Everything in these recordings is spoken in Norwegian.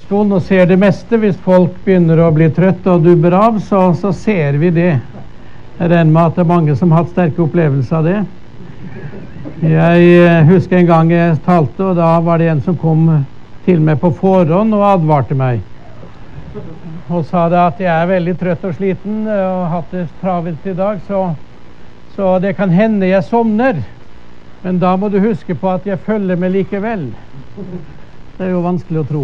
prekestolen og ser det meste. Hvis folk begynner å bli trøtte og dubber av, så ser vi det. Jeg regner med at det er mange som har hatt sterke opplevelser av det. Jeg husker en gang jeg talte, og da var det en som kom til meg på forhånd og advarte meg. Og sa det at jeg er veldig trøtt og sliten og har hatt det travelt i dag, så det kan hende jeg somner. Men da må du huske på at jeg følger med likevel. Det er jo vanskelig å tro.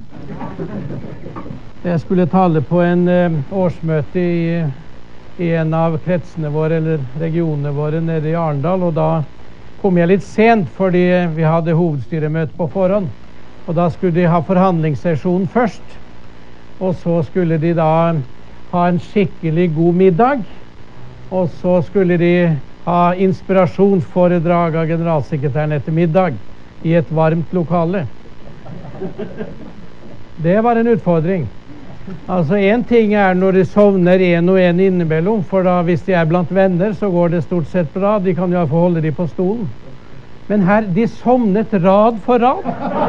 Jeg skulle tale på en årsmøte i en av kretsene våre, eller regionene våre, nede i Arendal, og da kom jeg litt sent fordi vi hadde hovedstyremøte på forhånd. Og da skulle de ha forhandlingssesjon først, og så skulle de da ha en skikkelig god middag, og så skulle de ha inspirasjonsforedrag av generalsekretæren etter middag i et varmt lokale. Det var en utfordring. Altså, en ting er når de sovner en og en innimellom, for da hvis de er blant venner, så går det stort sett bra. De kan jo holde de på stolen. Men her, de sovnet rad for rad.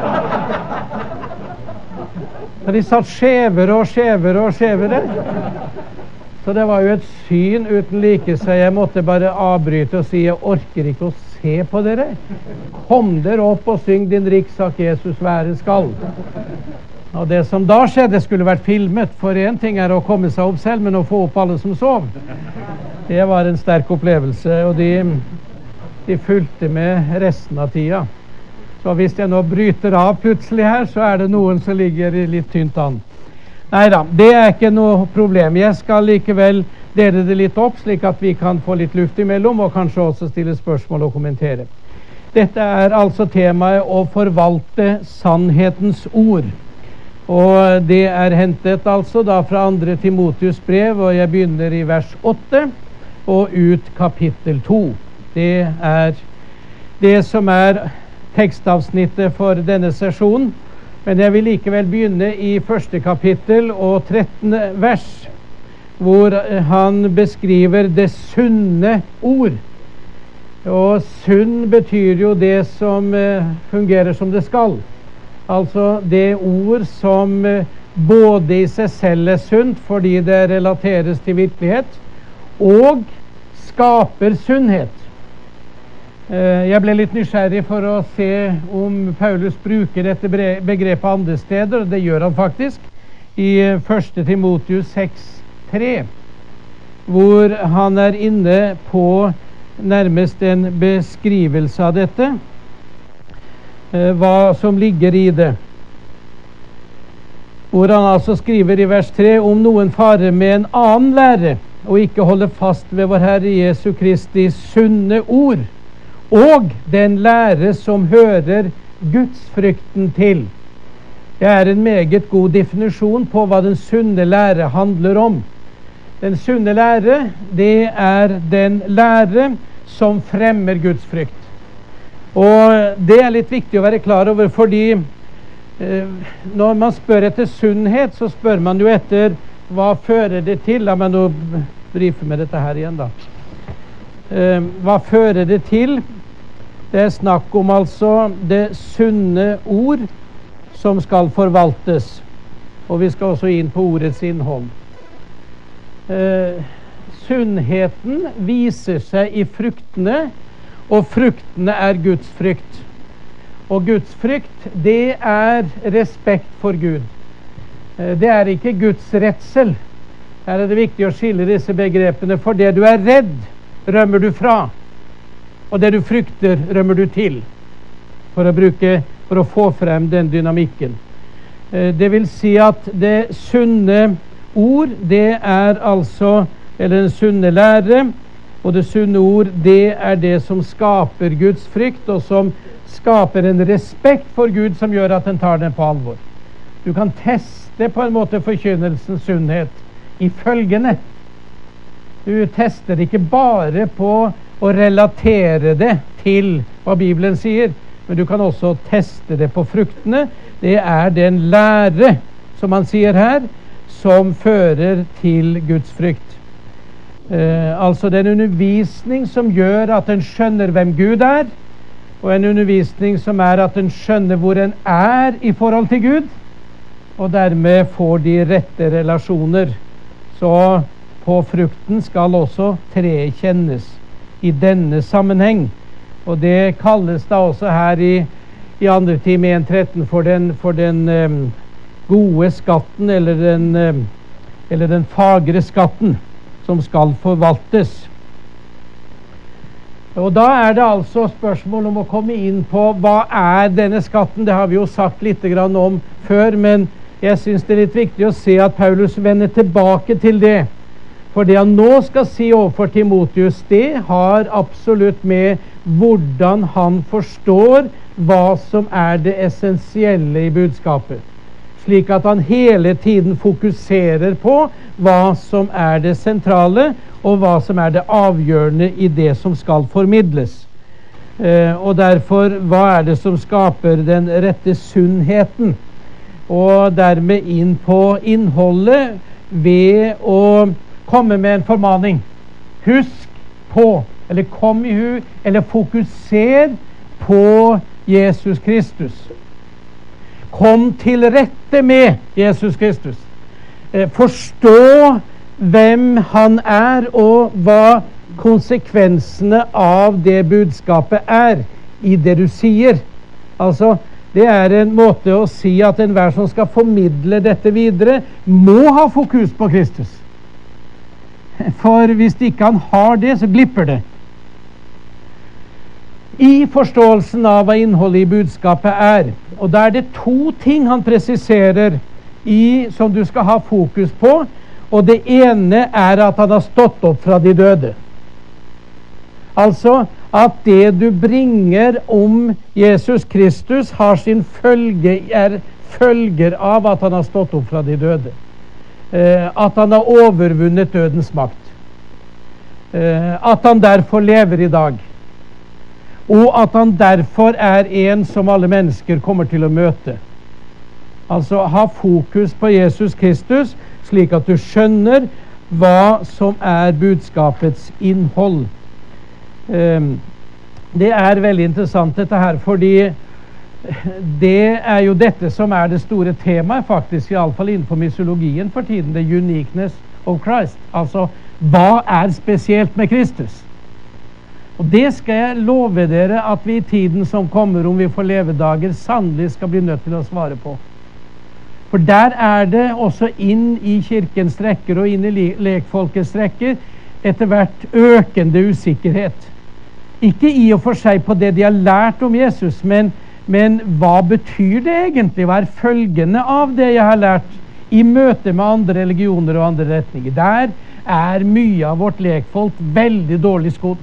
Og de satt skjevere og skjevere og skjevere. Så det var jo et syn uten like, så jeg måtte bare avbryte og si, jeg orker ikke å se på dere. Kom dere opp og syng din rikssak Jesus være skal. Og det som da skjedde skulle vært filmet, for en ting er å komme seg opp selv, men å få opp alle som sov. Det var en sterk opplevelse, og de fulgte med resten av tida. Så hvis jeg nå bryter av plutselig her, så er det noen som ligger litt tynt an. Neida, det er ikke noe problem. Jeg skal likevel dele det litt opp, slik at vi kan få litt luft imellom, og kanskje også stille spørsmål og kommentere. Dette er altså temaet å forvalte sannhetens ord. Og det er hentet altså da fra 2. Timotheus brev, og jeg begynner i vers 8 og ut kapittel 2. Det er det som er tekstavsnittet for denne sesjonen. Men jeg vil likevel begynne i 1. kapittel og 13. vers, hvor han beskriver det sunne ord. Og sunn betyr jo det som fungerer som det skal. Altså det ord som både i seg selv er sunt, fordi det relateres til virkelighet, og skaper sunnhet. Jeg ble litt nysgjerrig for å se om Paulus bruker dette begrepet andre steder, og det gjør han faktisk i 1. Timotheus 6:3, hvor han er inne på nærmest en beskrivelse av dette, hva som ligger i det. Hvor han altså skriver i vers 3, om noen farer med en annen lære, og ikke holder fast ved vår Herre Jesu Kristi sunne ord, og den lære som hører gudsfrykten til. Det er en meget god definisjon på hva den sunne lære handler om. Den sunne lære, det er den lære som fremmer gudsfrykt. Og det er litt viktig å være klar over, fordi når man spør etter sunnhet, så spør man jo etter hva fører det til. La meg nå brife med dette her igjen da. Hva fører det til? Det er snakk om altså det sunne ord som skal forvaltes. Og vi skal også inn på ordets innhold. Sunnheten viser seg i fruktene, og fruktene er Guds frykt. Og Guds frykt, det er respekt for Gud. Det er ikke Guds redsel. Her er det viktig å skille disse begrepene, for det du er redd, rømmer du fra. Og det du frykter, rømmer du til. For å få frem den dynamikken. Det vil si at det sunne ord, det er altså, eller den sunne lære, og det sunne ord, det er det som skaper Guds frykt, og som skaper en respekt for Gud som gjør at den tar den på alvor. Du kan teste på en måte forkynnelsens sunnhet i følgende. Du tester ikke bare på å relatere det til hva Bibelen sier, men du kan også teste det på fruktene. Det er den lære, som han sier her, som fører til Guds frykt. Altså den undervisning som gjør at en skjønner hvem Gud er, og en undervisning som er at en skjønner hvor en er i forhold til Gud, og dermed får de rette relasjoner. Så på frukten skal også treet kjennes i denne sammenheng. Og det kalles da også her i 2. Tim 1,13 for den gode skatten, eller den fagre skatten, som skal forvaltes. Og da er det altså spørsmål om å komme inn på hva er denne skatten. Det har vi jo sagt litt grann om før, men jeg synes det er litt viktig å se at Paulus vender tilbake til det. For det han nå skal si overfor Timotheus, det har absolutt med hvordan han forstår hva som er det essensielle i budskapet. Slik at han hele tiden fokuserer på hva som er det sentrale, og hva som er det avgjørende i det som skal formidles. Og derfor, hva er det som skaper den rette sunnheten? Og dermed inn på innholdet ved å komme med en formaning. Husk på, eller kom i hu, eller fokuser på Jesus Kristus. Kom til rette med Jesus Kristus. Forstå hvem han er, og hva konsekvensene av det budskapet er i det du sier. Altså, det er en måte å si at enhver som skal formidle dette videre, må ha fokus på Kristus. For hvis ikke han har det, så glipper det. I forståelsen av hva innholdet i budskapet er, og da er det 2 ting han presiserer som du skal ha fokus på, og det ene er at han har stått opp fra de døde. Altså at det du bringer om Jesus Kristus har sin følger av at han har stått opp fra de døde. At han har overvunnet dødens makt. At han derfor lever i dag. Og at han derfor er en som alle mennesker kommer til å møte. Altså ha fokus på Jesus Kristus, slik at du skjønner hva som er budskapets innhold. Det er veldig interessant dette her, fordi det er jo dette som er det store temaet faktisk, i alle fall innenfor mysologien for tiden, the uniqueness of Christ. Altså, hva er spesielt med Kristus? Og det skal jeg love dere at vi i tiden som kommer, om vi får levedager, sannelig skal bli nødt til å svare på. For der er det også inn i kirkens rekker og inn i lekfolkets rekker etter hvert økende usikkerhet. Ikke i og for seg på det de har lært om Jesus, men hva betyr det egentlig? Hva er følgene av det jeg har lært i møte med andre religioner og andre retninger? Der er mye av vårt lekfolk veldig dårlig skodd.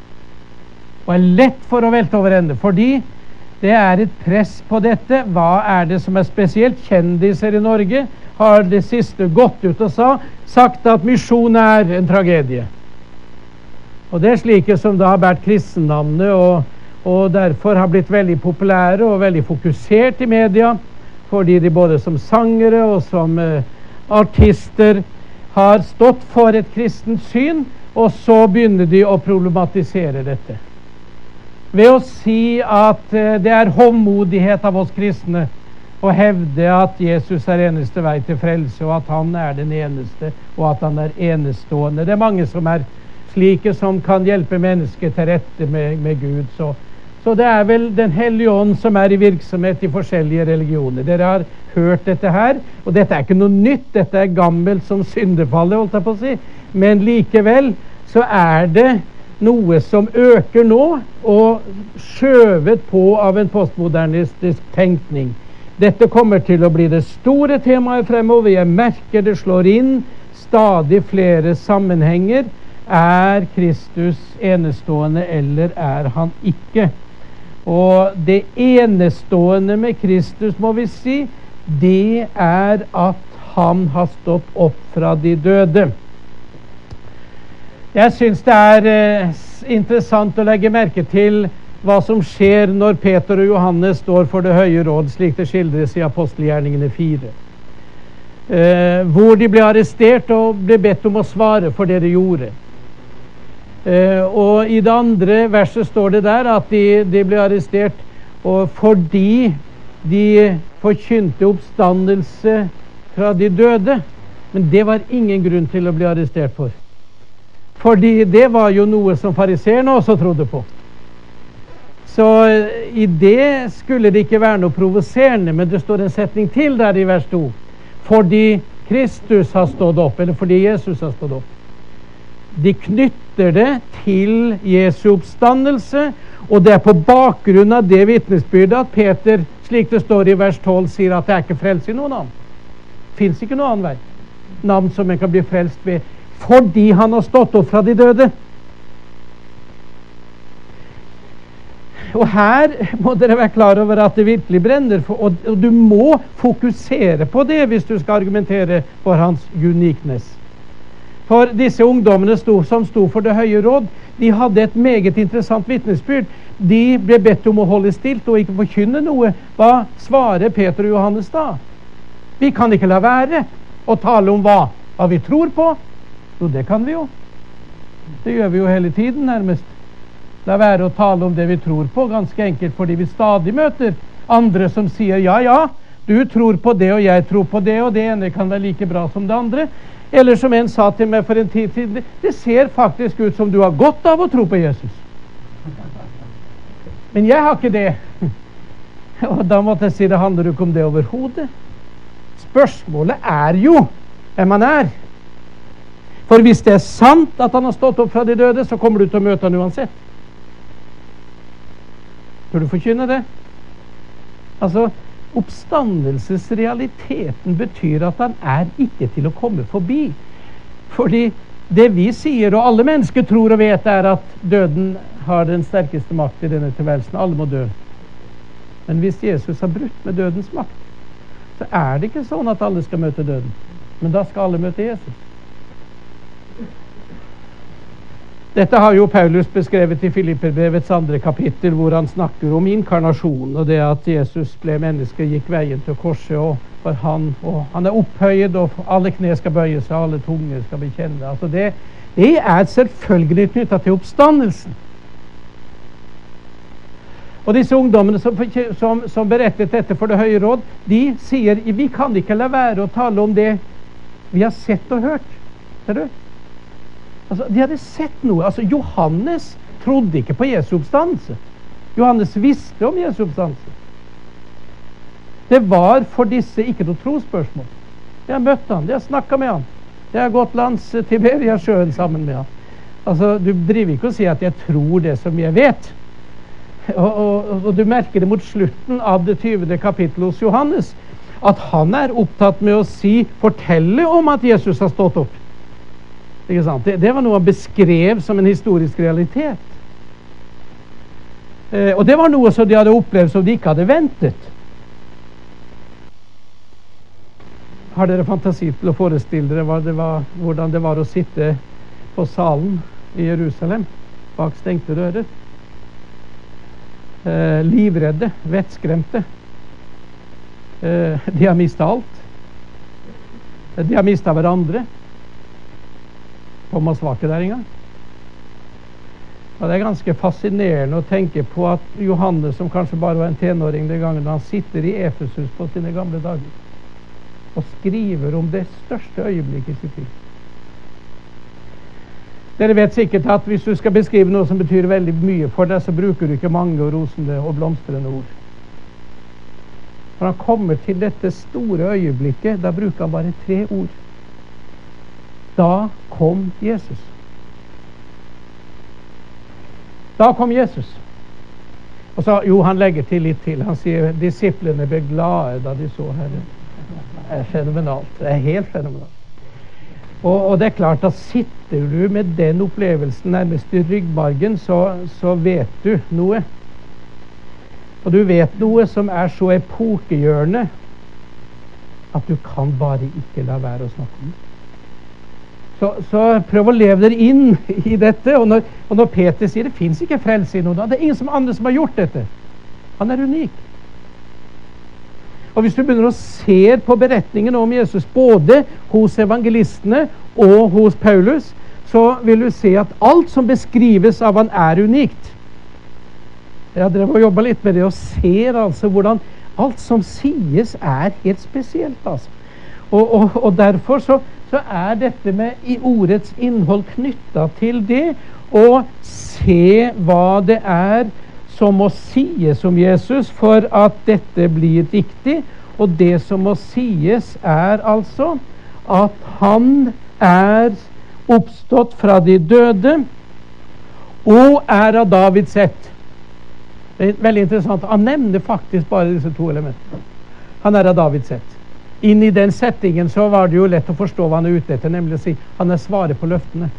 Og er lett for å velte over ende, fordi det er et press på dette. Hva er det som er spesielt? Kjendiser i Norge har det siste gått ut og sagt at misjon er en tragedie. Og det er slike som da har vært kristennavnet og derfor har blitt veldig populære og veldig fokusert i media, fordi de både som sangere og som artister har stått for et kristent syn, og så begynner de å problematisere dette. Ved å si at det er håndmodighet av oss kristne å hevde at Jesus er eneste vei til frelse, og at han er den eneste, og at han er enestående. Det er mange som er slike som kan hjelpe mennesket til rette med Gud. Så det er vel Den hellige ånd som er i virksomhet i forskjellige religioner. Dere har hørt dette her, og dette er ikke noe nytt. Dette er gammelt som syndefallet, holdt jeg på å si. Men likevel så er det noe som øker nå, og skjøvet på av en postmodernistisk tenkning. Dette kommer til å bli det store temaet fremover. Jeg merker det slår inn stadig flere sammenhenger. Er Kristus enestående, eller er han ikke? Og det enestående med Kristus, må vi si, det er at han har stått opp fra de døde. Jeg synes det er interessant å legge merke til hva som skjer når Peter og Johannes står for det høye råd, slik det skildres i Apostelgjerningene 4. Hvor de ble arrestert og ble bedt om å svare for det de gjorde. Og i det andre verset står det der at de ble arrestert fordi de forkynte oppstandelse fra de døde. Men det var ingen grunn til å bli arrestert for. Fordi det var jo noe som fariseerne også trodde på. Så i det skulle det ikke være noe provoserende, men det står en setning til der i vers 2. Fordi Kristus har stått opp, eller fordi Jesus har stått opp. De knytter det til Jesu oppstandelse, og det er på bakgrunn av det vitnesbyrdet at Peter, slik det står i vers 12, sier at det er ikke frelse i noen annen. Det finnes ikke noen annen vei. Navn som en kan bli frelst ved, fordi han har stått opp fra de døde. Og her må dere være klar over at det virkelig brenner, og du må fokusere på det hvis du skal argumentere for hans uniqueness. For disse ungdommene som sto for det høye råd, de hadde et meget interessant vitnesbyrd. De ble bedt om å holde stilt og ikke forkynne noe. Hva svarer Peter og Johannes da? Vi kan ikke la være å tale om hva vi tror på. Jo, det kan vi jo. Det gjør vi jo hele tiden nærmest. La være å tale om det vi tror på, ganske enkelt fordi vi stadig møter andre som sier ja, du tror på det og jeg tror på det, og det ene kan være like bra som det andre. Eller som en sa til meg for en tid siden, det ser faktisk ut som du har godt av å tro på Jesus. Men jeg har ikke det. Og da måtte jeg si, det handler jo ikke om det overhodet. Spørsmålet er jo hvem han er. For hvis det er sant at han har stått opp fra de døde, så kommer du til å møte han uansett. Tror du forkynner det? Altså, oppstandelsesrealiteten betyr at han er ikke til å komme forbi. Fordi det vi sier, og alle mennesker tror og vet, er at døden har den sterkeste makt i denne tilværelsen. Alle må dø. Men hvis Jesus har brutt med dødens makt, så er det ikke sånn at alle skal møte døden. Men da skal alle møte Jesus. Dette har jo Paulus beskrevet i Filipperbrevets 2. kapittel, hvor han snakker om inkarnasjon, og det at Jesus ble menneske, gikk veien til korset, og for han er opphøyet, og alle kne skal bøye seg, alle tunger skal bekjenne. Altså det er selvfølgelig knyttet til oppstandelsen. Og disse ungdommene som berettet dette for det høye råd, de sier, vi kan ikke la være å tale om det vi har sett og hørt. Ser du? Altså, de hadde sett noe. Altså, Johannes trodde ikke på Jesu oppstandelse. Johannes visste om Jesu oppstandelse. Det var for disse ikke noe trospørsmål. De har møtt han, de har snakket med han. De har gått langs Tiberiasjøen sammen med han. Altså, du driver ikke å si at jeg tror det som jeg vet. Og du merker det mot slutten av det 20. kapittel hos Johannes, at han er opptatt med å fortelle om at Jesus har stått opp. Ikke sant? Det var noe han beskrev som en historisk realitet. Og det var noe som de hadde opplevd som de ikke hadde ventet. Har dere fantasi til å forestille dere hvordan det var å sitte på salen i Jerusalem bak stengte dører? Livredde, vettskremte. De har mistet alt. De har mistet hverandre. Thomas var ikke der engang. Og det er ganske fascinerende å tenke på at Johannes, som kanskje bare var en tenåring den gangen, han sitter i Efesus på sine gamle dager og skriver om det største øyeblikket i sitt liv. Dere vet sikkert at hvis du skal beskrive noe som betyr veldig mye for deg, så bruker du ikke mange og rosende og blomstrende ord. Når han kommer til dette store øyeblikket, da bruker han bare 3 ord. Da kom Jesus. Da kom Jesus. Og så, han legger til litt til. Han sier, disiplene ble glade da de så Herren. Det er fenomenalt. Det er helt fenomenalt. Og det er klart at sitter du med den opplevelsen nærmest i ryggmargen, så vet du noe. Og du vet noe som er så epokegjørende at du kan bare ikke la være å snakke om det. Så prøv å leve dere inn i dette. Og når Peter sier det finnes ikke frelse i noen, det er ingen andre som har gjort dette. Han er unik. Og hvis du begynner å se på beretningen om Jesus både hos evangelistene og hos Paulus, så vil du se at alt som beskrives av han er unikt. Jeg har drevet og jobbet litt med det og ser altså hvordan Alt som sies helt spesielt, altså. Og derfor så dette med i ordets innhold knyttet til det, å se hva det som må sies om Jesus for at dette blir riktig. Og det som må sies altså at han oppstått fra de døde og av Davids ett. Det veldig interessant. Han nevner faktisk bare disse to elementene. Han av Davids ett. Inn i den settingen så var det jo lett å forstå hva han ute etter, nemlig å si han svaret på løftene.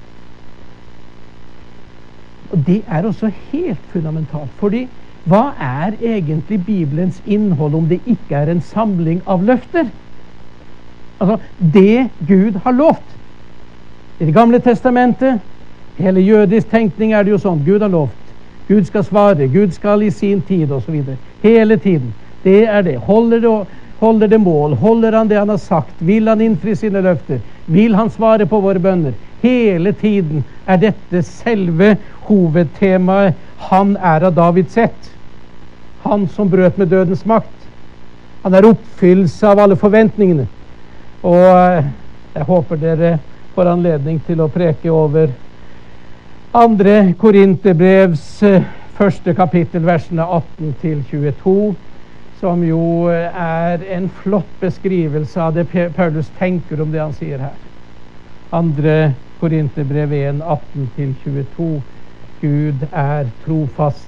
Og det også helt fundamentalt, fordi hva egentlig Bibelens innhold om det ikke en samling av løfter? Altså, det Gud har lovt. I Det gamle testamentet, hele jødisk tenkning det jo sånn, Gud har lovt. Gud skal svare, Gud skal i sin tid, og så videre. Hele tiden. Det det. Holder det mål? Holder han det han har sagt? Vil han innfri sine løfter? Vil han svare på våre bønner? Hele tiden dette selve hovedtemaet. Han av Davids ett. Han som brøt med dødens makt. Han oppfyllelse av alle forventningene. Og jeg håper dere får anledning til å preke over 2. Korinterbrevs 1. kapittel, versene 18 til 22, som jo en flott beskrivelse av det Paulus tenker om det han sier her. 2. Korinterbrev 1, 18 til 22. Gud trofast.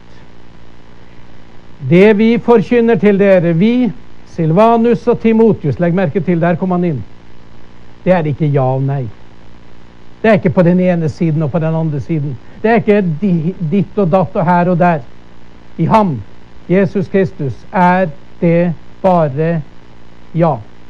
Det vi forkynner til dere, vi, Silvanus og Timotius, legg merke til, der kom han inn. Det ikke ja og nei. Det ikke på den ene siden og på den andre siden. Det ikke ditt og datt og her og der. I ham, Jesus Kristus, det bare ja.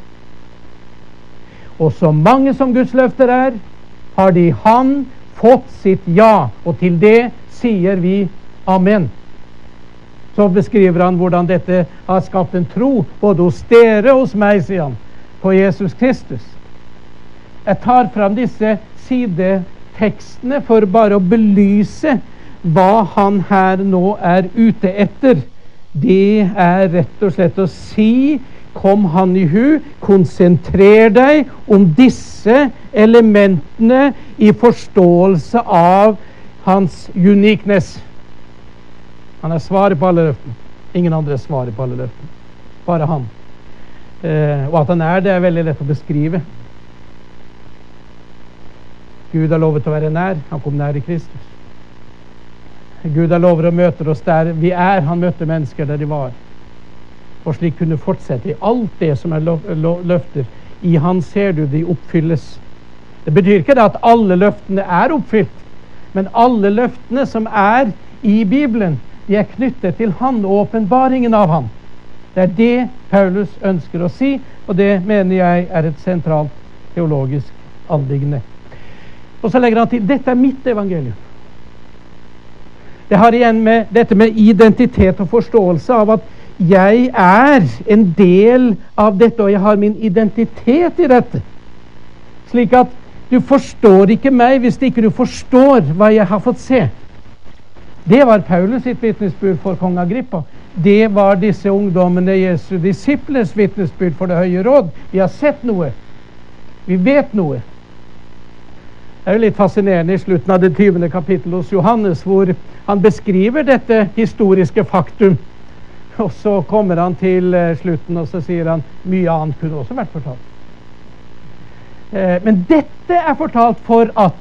Og så mange som Guds løfter har de han fått sitt ja, og til det sier vi amen. Så beskriver han hvordan dette har skapt en tro, både hos dere og hos meg, sier han, på Jesus Kristus. Jeg tar fram disse sidetekstene for bare å belyse hva han her nå ute etter. Det rett og slett å si, kom han i hu, konsentrer deg om disse elementene i forståelse av hans uniqueness. Han svaret på alle løftene. Ingen andre svarer på alle løftene. Bare han. Og at han det veldig lett å beskrive. Gud har lovet å være nær. Han kom nær i Kristus. Gud har lovet å møte oss der vi Han møtte mennesker der de var. Og slik kunne fortsette i alt det som løfter. I han ser du de oppfylles. Det betyr ikke at alle løftene oppfylt, men alle løftene som i Bibelen, de knyttet til han og åpenbaringen av han. Det det Paulus ønsker å si, og det mener jeg et sentralt teologisk anliggende. Og så legger han til, dette mitt evangelium. Det har igjen med dette med identitet og forståelse av at jeg en del av dette, og jeg har min identitet i dette. Slik at du forstår ikke meg hvis ikke du forstår hva jeg har fått se. Det var Paulus sitt vitnesbyrd for kong Agrippa. Det var disse ungdommene Jesu disiples vitnesbyrd for det høye råd. Vi har sett noe. Vi vet noe. Det jo litt fascinerende i slutten av det 20. kapittel hos Johannes, hvor han beskriver dette historiske faktum. Og så kommer han til slutten, og så sier han mye annet kunne også vært fortalt. Men dette fortalt for at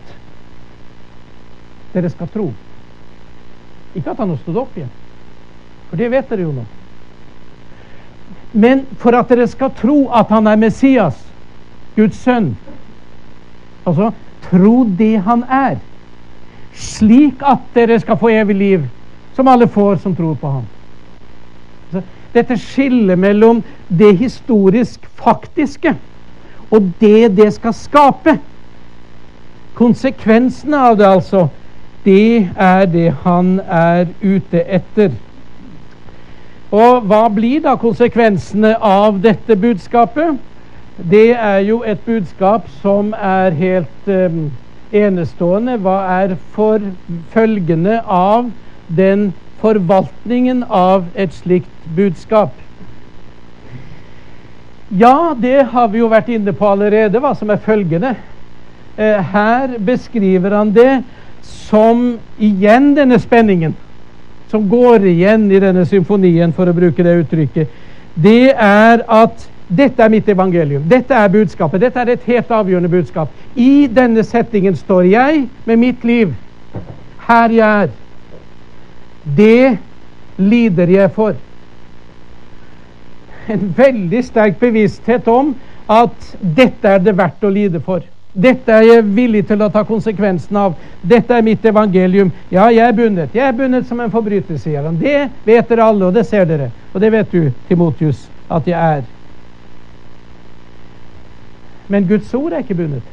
dere skal tro. Ikke at han har stått opp igjen, for det vet dere jo nå. Men for at dere skal tro at han Messias, Guds sønn. Altså, tro det han slik at dere skal få evig liv, som alle får som tror på ham. Altså, dette skiller mellom det historisk faktiske og det skal skape. Konsekvensene av det altså, det det han ute etter. Og hva blir da konsekvensene av dette budskapet? Det jo et budskap som helt enestående. Hva for følgende av den forvaltningen av et slikt budskap? Ja, det har vi jo vært inne på allerede, hva som følgende. Her beskriver han det som igjen denne spenningen, som går igjen i denne symfonien, for å bruke det uttrykket. Det er at dette er mitt evangelium, dette er budskapet, dette er et helt avgjørende budskap. I denne settingen står jeg med mitt liv. Her jeg er. Det lider jeg for. En veldig sterk bevissthet om at dette er det verdt å lide for. Dette er jeg villig til å ta konsekvensen av. Dette er mitt evangelium. Ja, jeg er bundet. Jeg er bundet som en forbryter, sier han. Det vet dere alle, og det ser dere. Og det vet du, Timotius, at jeg er. Men Guds ord er ikke bundet.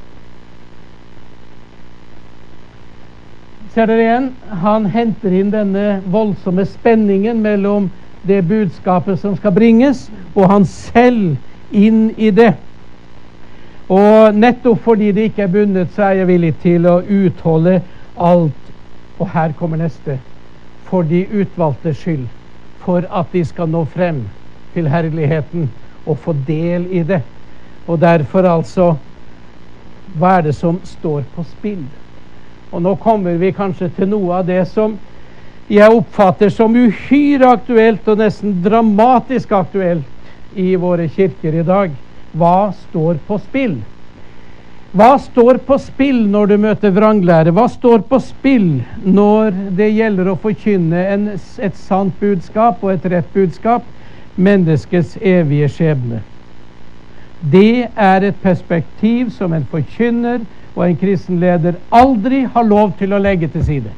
Ser dere igjen? Han henter inn denne voldsomme spenningen mellom det budskapet som skal bringes, og han selv inn i det. Og nettopp fordi det ikke er bundet, så er jeg villig til å utholde alt. Og her kommer neste. For de utvalgte skyld. For at de skal nå frem til herligheten og få del i det. Og derfor altså, hva er det som står på spill? Og nå kommer vi kanskje til noe av det som jeg oppfatter som uhyre aktuelt og nesten dramatisk aktuelt i våre kirker i dag. Hva står på spill? Hva står på spill når du møter vranglære? Hva står på spill når det gjelder å forkynne et sant budskap og et rett budskap? Menneskets evige skjebne. Det er et perspektiv som en forkynner og en kristen leder aldri har lov til å legge til side.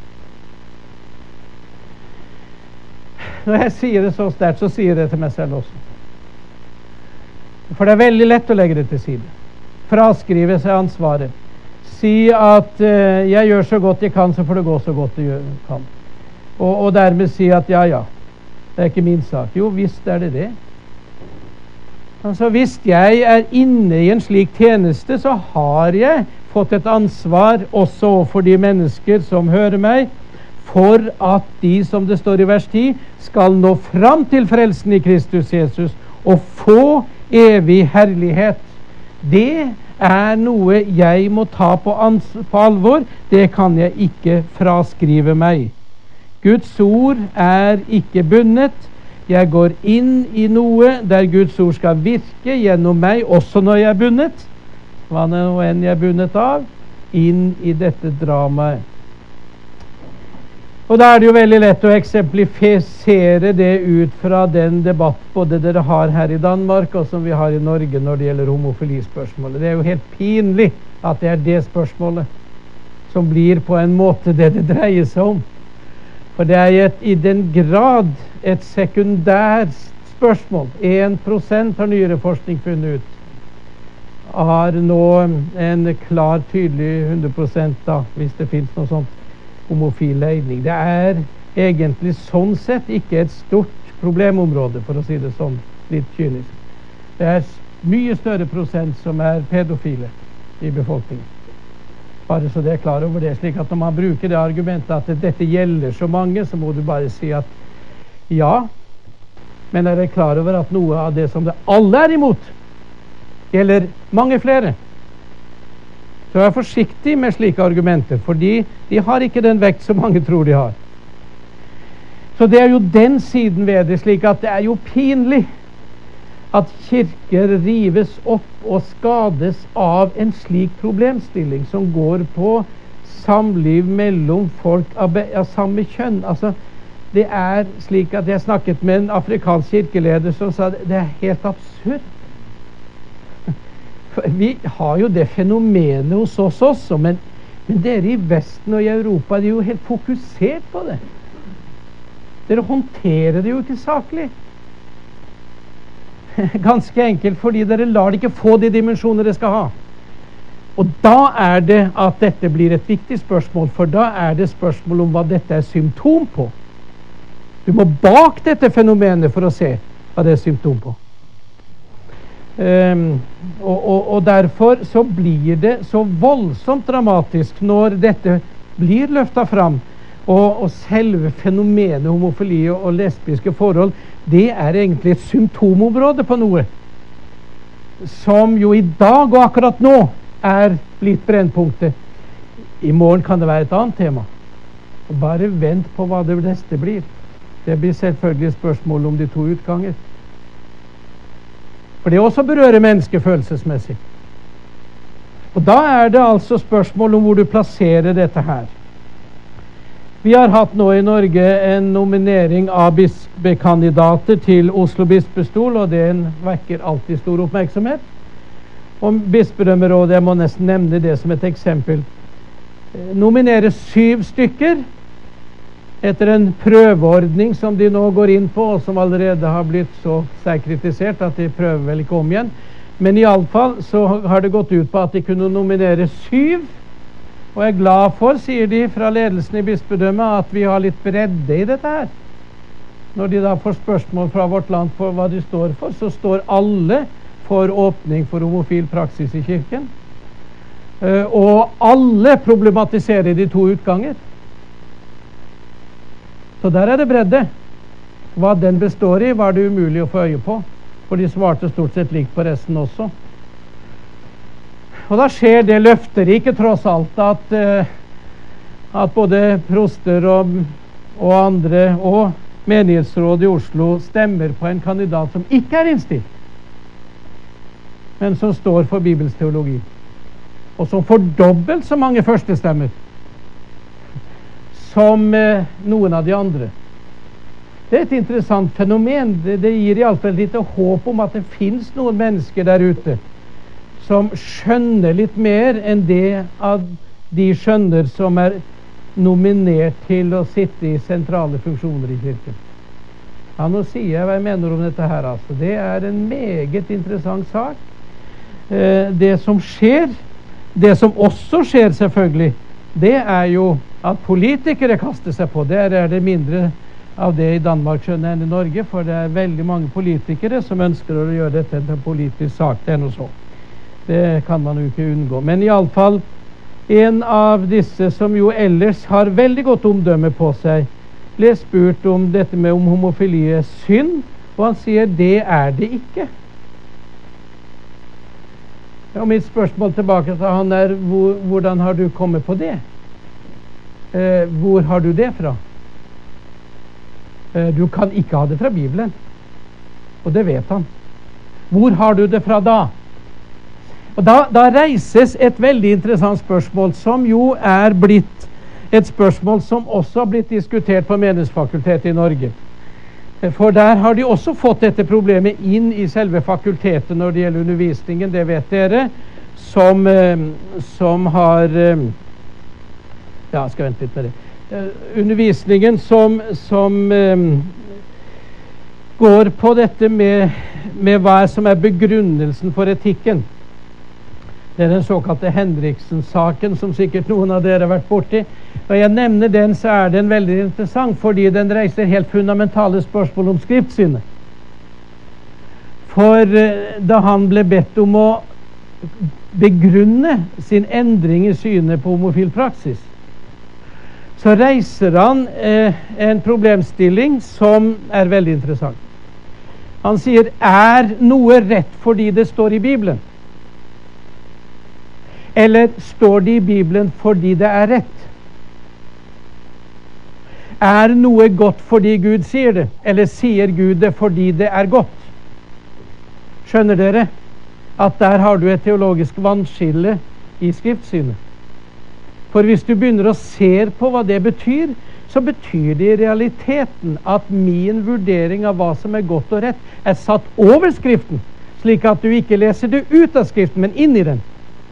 Når jeg sier det så sterkt, så sier jeg det til meg selv også. For det er veldig lett å legge det til side. Fraskrive seg ansvaret. Si at jeg gjør så godt jeg kan, så får det gå så godt jeg kan. Og dermed si at ja, det er ikke min sak. Jo, visst er det det. Altså, hvis jeg er inne i en slik tjeneste, så har jeg fått et ansvar også for de mennesker som hører meg, for at de, som det står i vers 10, skal nå fram til frelsen i Kristus Jesus og få evig herlighet. Det er noe jeg må ta på alvor. Det kan jeg ikke fraskrive meg. Guds ord er ikke bundet. Jeg går inn i noe der Guds ord skal virke gjennom meg, også når jeg er bundet. Hva nå enn jeg er bundet av, inn i dette dramaet. Og da er det jo veldig lett å eksemplifisere det ut fra den debatt både dere har her i Danmark og som vi har i Norge når det gjelder homofilispørsmålet. Det er jo helt pinlig at det er det spørsmålet som blir på en måte det dreier seg om. For det er i den grad et sekundært spørsmål. 1% har nyere forskning funnet ut. Har nå en klar, tydelig 100% da, hvis det finnes noe sånt, homofil legning. Det er egentlig sånn sett ikke et stort problemområde, for å si det sånn, litt kynisk. Det er mye større prosent som er pedofile i befolkningen. Bare så det er klar over det, slik at når man bruker det argumentet at dette gjelder så mange, så må du bare si at ja, men er det klar over at noe av det som det alle er imot, gjelder mange flere. Så vær forsiktig med slike argumenter, fordi de har ikke den vekt som mange tror de har. Så det er jo den siden ved det, slik at det er jo pinlig at kirker rives opp og skades av en slik problemstilling som går på samliv mellom folk av samme kjønn. Altså, det er slik at jeg snakket med en afrikansk kirkeleder som sa det er helt absurd. Vi har jo det fenomenet hos oss også, men dere i Vesten og i Europa, de er jo helt fokusert på det. Dere håndterer det jo ikke saklig. Ganske enkelt fordi dere lar det ikke få de dimensjoner det skal ha. Og da er det at dette blir et viktig spørsmål, for da er det spørsmål om hva dette er symptom på. Du må bak dette fenomenet for å se hva det er symptom på. Og derfor så blir det så voldsomt dramatisk når dette blir løftet fram, og selve fenomenet homofili og lesbiske forhold, det er egentlig et symptomområde på noe som jo i dag og akkurat nå blitt brennpunktet. I morgen kan det være et annet tema. Og bare vent på hva det neste blir. Det blir selvfølgelig spørsmål om de to utganger. For det også berører mennesket følelsesmessig. Og da det altså spørsmål om hvor du plasserer dette her. Vi har hatt nå i Norge en nominering av bispekandidater til Oslo bispestol, og det vekker alltid stor oppmerksomhet. Og bispedømmerådet, jeg må nesten nevne det som et eksempel, nominerer 7 stykker etter en prøveordning som de nå går inn på, og som allerede har blitt så sterkt kritisert at de prøver vel ikke om igjen. Men i alle fall så har det gått ut på at de kunne nominere 7, og jeg er glad for, sier de fra ledelsen i bispedømmet, at vi har litt bredde i dette her. Når de da får spørsmål fra Vårt Land for hva de står for, så står alle for åpning for homofil praksis i kirken. Og alle problematiserer de to utganger. Så der det bredde. Hva den består i, var det umulig å få øye på, for de svarte stort sett likt på resten også. Og da skjer det løfterike tross alt at både proster og andre og menighetsrådet i Oslo stemmer på en kandidat som ikke innstilt, men som står for Bibels teologi, og som får dobbelt så mange førstestemmer som noen av de andre. Det et interessant fenomen. Det gir i alle fall litt håp om at det finnes noen mennesker der ute som skjønner litt mer enn det av de skjønner som nominert til å sitte i sentrale funksjoner i kirken. Ja, nå sier jeg hva jeg mener om dette her, altså. Det en meget interessant sak. Det som skjer, det som også skjer selvfølgelig, det jo at politikere kaster seg på. Der det mindre av det i Danmark skjønner enn i Norge, for det veldig mange politikere som ønsker å gjøre dette til en politisk sak. Det noe så. Det kan man jo ikke unngå. Men i alle fall, en av disse som jo ellers har veldig godt omdømme på seg, ble spurt om dette med om homofili synd, og han sier det det ikke. Og mitt spørsmål tilbake til han hvordan har du kommet på det? Hvor har du det fra? Du kan ikke ha det fra Bibelen, og det vet han. Hvor har du det fra da? Og da reises et veldig interessant spørsmål, som jo blitt et spørsmål som også har blitt diskutert på Menighetsfakultetet i Norge. For der har de også fått dette problemet inn i selve fakultetet når det gjelder undervisningen, det vet dere, som har ja, skal vente litt med det. Undervisningen som går på dette med hva som begrunnelsen for etikken. Det den såkalte Henriksen-saken, som sikkert noen av dere har vært borti. Og jeg nevner den, så den veldig interessant, fordi den reiser helt fundamentale spørsmål om skriftsynet. For da han ble bedt om å begrunne sin endring i synet på homofil praksis, så reiser han en problemstilling som veldig interessant. Han sier, noe rett fordi det står i Bibelen? Eller står det i Bibelen fordi det rett? Noe godt fordi Gud sier det? Eller sier Gud det fordi det godt? Skjønner dere at der har du et teologisk vannskille i skriftsynet? For hvis du begynner å se på hva det betyr, så betyr det i realiteten at min vurdering av hva som godt og rett satt over skriften, slik at du ikke leser det ut av skriften, men inn i den.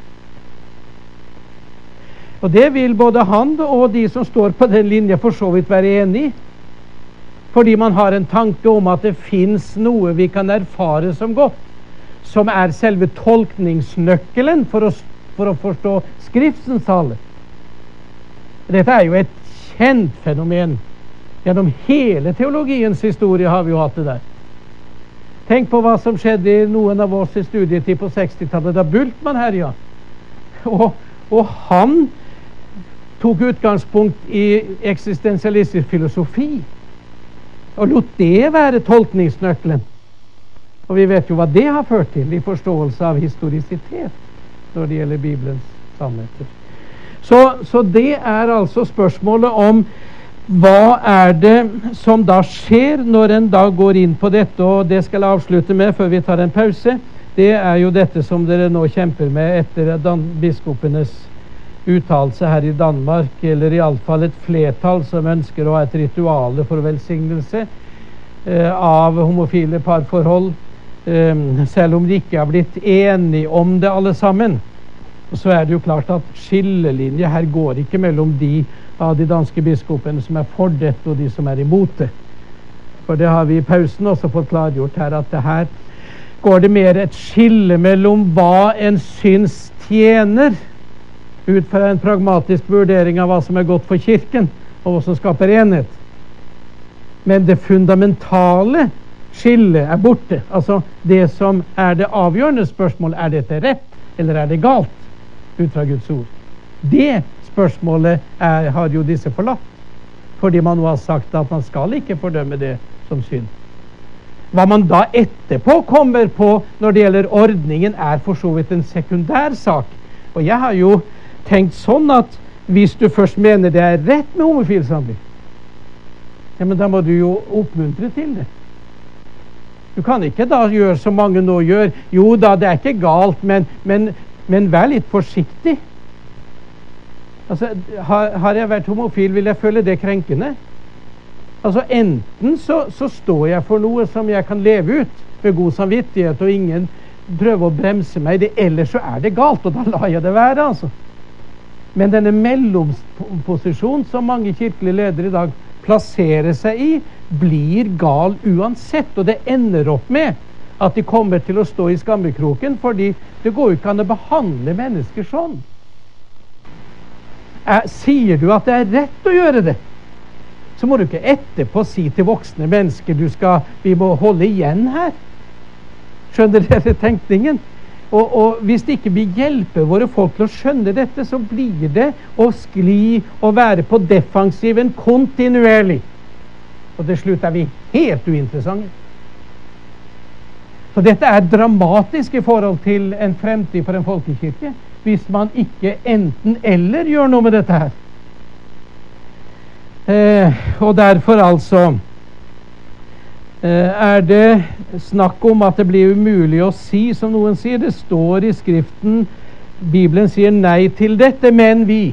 Og det vil både han og de som står på den linja for så vidt være enig i, fordi man har en tanke om at det finnes noe vi kan erfare som godt, som selve tolkningsnøkkelen for å forstå skriftens tale. Dette jo et kjent fenomen. Gjennom hele teologiens historie har vi jo hatt det der. Tenk på hva som skjedde i noen av oss i studietid på 60-tallet, da Bultmann herja. Og han tok utgangspunkt i eksistensialistisk filosofi, og lot det være tolkningsnøkkelen. Og vi vet jo hva det har ført til i forståelse av historisitet når det gjelder Bibelens sannheter. Så det er altså spørsmålet om hva er det som da skjer når en da går inn på dette, og det skal jeg avslutte med før vi tar en pause. Det er jo dette som dere nå kjemper med etter biskopenes uttalelse her i Danmark, eller i alle fall et flertall som ønsker å ha et rituale for velsignelse av homofile parforhold, selv om de ikke har blitt enige om det alle sammen. Så er det jo klart at skillelinje her går ikke mellom de av de danske biskopene som er for dette og de som er imot det. For det har vi i pausen også fått klargjort her, at det her går det mer et skille mellom hva en syns tjener ut fra en pragmatisk vurdering av hva som er godt for kirken og hva som skaper enhet. Men det fundamentale skillet er borte. Altså det som er det avgjørende spørsmålet, er dette rett eller er det galt ut fra Guds ord? Det spørsmålet har jo disse forlatt, fordi man nå har sagt at man skal ikke fordømme det som synd. Hva man da etterpå kommer på når det gjelder ordningen, er for så vidt en sekundær sak. Og jeg har jo tenkt sånn at hvis du først mener det er rett med homofil samliv, ja, men da må du jo oppmuntre til det. Du kan ikke da gjøre som mange nå gjør. Jo da, det er ikke galt, men vær litt forsiktig. Altså, har jeg vært homofil, vil jeg føle det krenkende. Altså, enten så står jeg for noe som jeg kan leve ut med god samvittighet, og ingen prøver å bremse meg det, eller så er det galt, og da lar jeg det være, altså. Men denne mellomposisjonen som mange kirkelige ledere i dag plasserer seg i, blir gal uansett, og det ender opp med at de kommer til å stå i skammekroken, fordi det går jo ikke an å behandle mennesker sånn. Sier du at det er rett å gjøre det, så må du ikke etterpå si til voksne mennesker vi må holde igjen her. Skjønner dere tenkningen? Og hvis det ikke vil hjelpe våre folk til å skjønne dette, så blir det å skli og være på defensiven kontinuerlig. Og til slutt er vi helt uinteressante. Så dette er dramatisk i forhold til en fremtid for en folkekirke, hvis man ikke enten eller gjør noe med dette her. Og derfor altså er det snakk om at det blir umulig å si, som noen sier. Det står i Skriften, Bibelen sier nei til dette, men vi.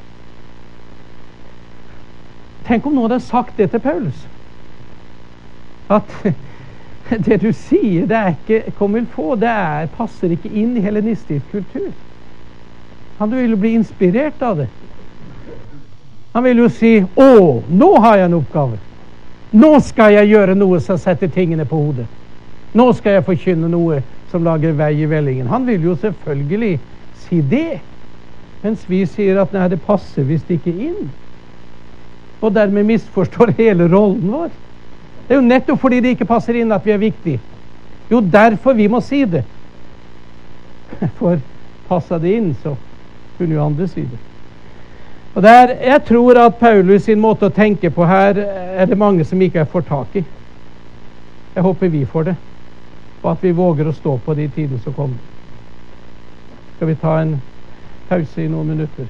Tenk om noen hadde sagt det til Paulus. At det du sier, det er ikke comme il faut, passer ikke inn i hellenistisk kultur. Han vil jo bli inspirert av det. Han vil jo si, nå har jeg en oppgave. Nå skal jeg gjøre noe som setter tingene på hodet. Nå skal jeg forkynne noe som lager vei i vellingen. Han vil jo selvfølgelig si det. Mens vi sier at nei, det passer visst ikke inn. Og dermed misforstår hele rollen vår. Det er jo nettopp fordi det ikke passer inn at vi er viktige. Jo, derfor vi må si det. For passer det inn, så kunne jo andre si det. Og jeg tror at Paulus sin måte å tenke på her er det mange som ikke får tak i. Jeg håper vi får det, og at vi våger å stå på de tider som kommer. Skal vi ta en pause i noen minutter?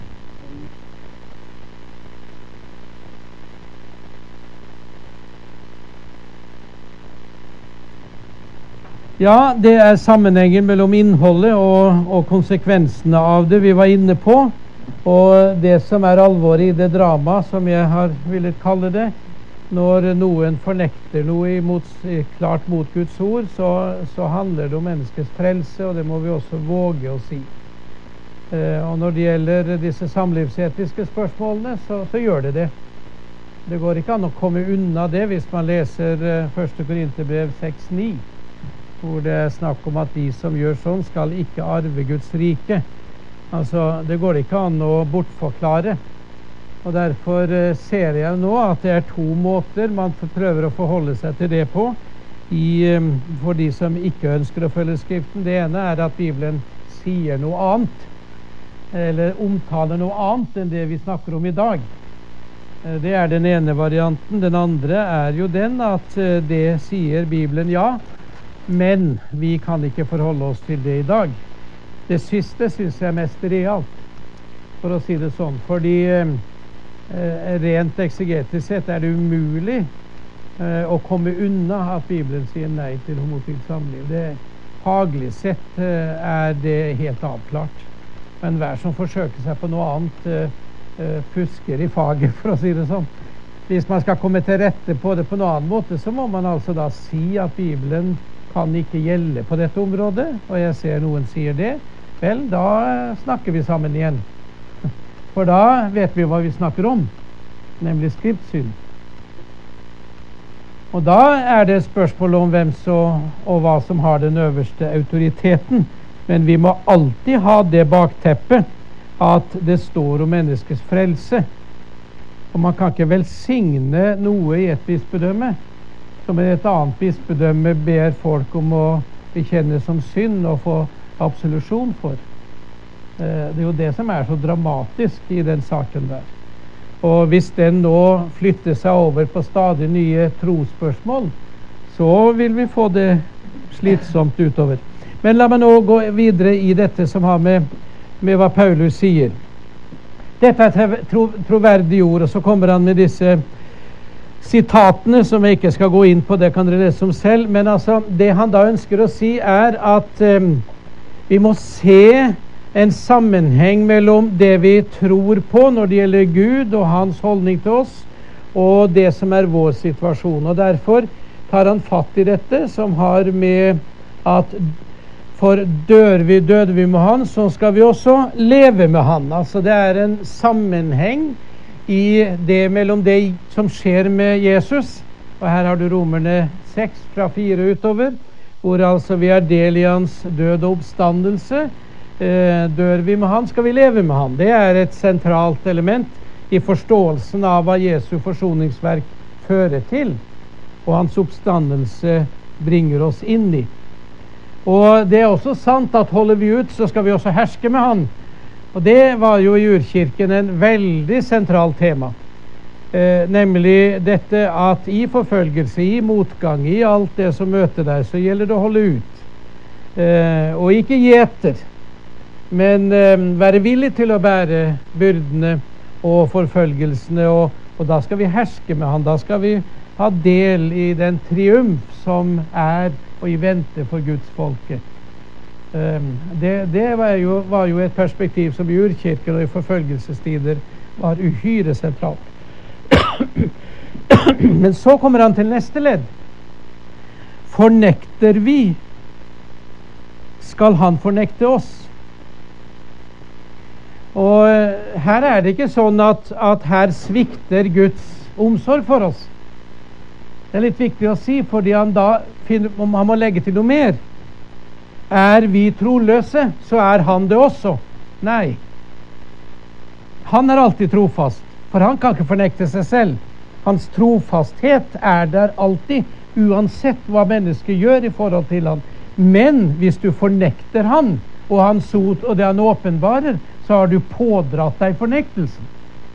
Ja, det er sammenhengen mellom innholdet og konsekvensene av det vi var inne på. Og det som er alvoret i det drama, som jeg har villet kalle det, når noen fornekter noe klart mot Guds ord, så handler det om menneskets frelse, og det må vi også våge å si. Og når det gjelder disse samlivsetiske spørsmålene, så gjør det det. Det går ikke an å komme unna det hvis man leser 1. Korinterbrev 6,9, hvor det er snakk om at de som gjør sånn skal ikke arve Guds rike. Altså, det går ikke an å bortforklare. Og derfor ser jeg nå at det er to måter man prøver å forholde seg til det på for de som ikke ønsker å følge Skriften. Det ene er at Bibelen sier noe annet, eller omtaler noe annet enn det vi snakker om i dag. Det er den ene varianten. Den andre er jo den at det sier Bibelen ja, Men vi kan ikke forholde oss til det i dag. Det siste synes jeg er mest realt, for å si det sånn. Fordi rent eksegetisk sett er det umulig å komme unna at Bibelen sier nei til homofilt samliv. Faglig sett er det helt avklart. Men hver som forsøker seg på noe annet fusker i faget, for å si det sånn. Hvis man skal komme til rette på det på noen annen måte, så må man altså da si at Bibelen kan ikke gjelde på dette området, og jeg ser noen sier det. Vel, da snakker vi sammen igjen. For da vet vi hva vi snakker om, nemlig skriftsyn. Og da er det spørsmål om hvem og hva som har den øverste autoriteten. Men vi må alltid ha det bakteppet at det står om menneskets frelse. Og man kan ikke velsigne noe i et bispedømme som i et annet bispedømme ber folk om å bekjenne som synd og få absolusjon for. Det er jo det som er så dramatisk i den saken der. Og hvis den nå flytter seg over på stadig nye trosspørsmål, så vil vi få det slitsomt utover. Men la meg nå gå videre i dette som har med hva Paulus sier. Dette er troverdige ord, og så kommer han med disse sitatene som jeg ikke skal gå inn på, det kan dere lese om selv. Men altså, det han da ønsker å si er at vi må se en sammenheng mellom det vi tror på når det gjelder Gud og hans holdning til oss, og det som er vår situasjon. Og derfor tar han fatt i dette som har med at for døde vi med han, så skal vi også leve med han. Altså det er en sammenheng i det mellom det som skjer med Jesus. Og her har du Romerne 6 fra 4 utover, hvor altså vi er del i hans død og oppstandelse. Dør vi med han, skal vi leve med han. Det er et sentralt element i forståelsen av hva Jesu forsoningsverk fører til, og hans oppstandelse bringer oss inn i. Og det er også sant at holder vi ut, så skal vi også herske med han. Og det var jo i urkirken en veldig sentral tema. Nemlig dette at i forfølgelse, i motgang, i alt det som møter deg, så gjelder det å holde ut. Og ikke gi etter, men være villig til å bære byrdene og forfølgelsene, og da skal vi herske med han. Da skal vi ha del i den triumf som er og i vente for Guds folke. Det var jo et perspektiv som i urkirken og i forfølgelsestider var uhyre sentralt. Men så kommer han til neste ledd. Fornekter vi, skal han fornekte oss. Og her er det ikke sånn at her svikter Guds omsorg for oss. Det er litt viktig å si, fordi han da finner om han må legge til noe mer. Er vi troløse, så er han det også. Nei. Han er alltid trofast, for han kan ikke fornekte seg selv. Hans trofasthet er der alltid, uansett hva mennesket gjør i forhold til han. Men hvis du fornekter han, og hans ord, og det han åpenbarer, så har du pådratt deg fornektelsen.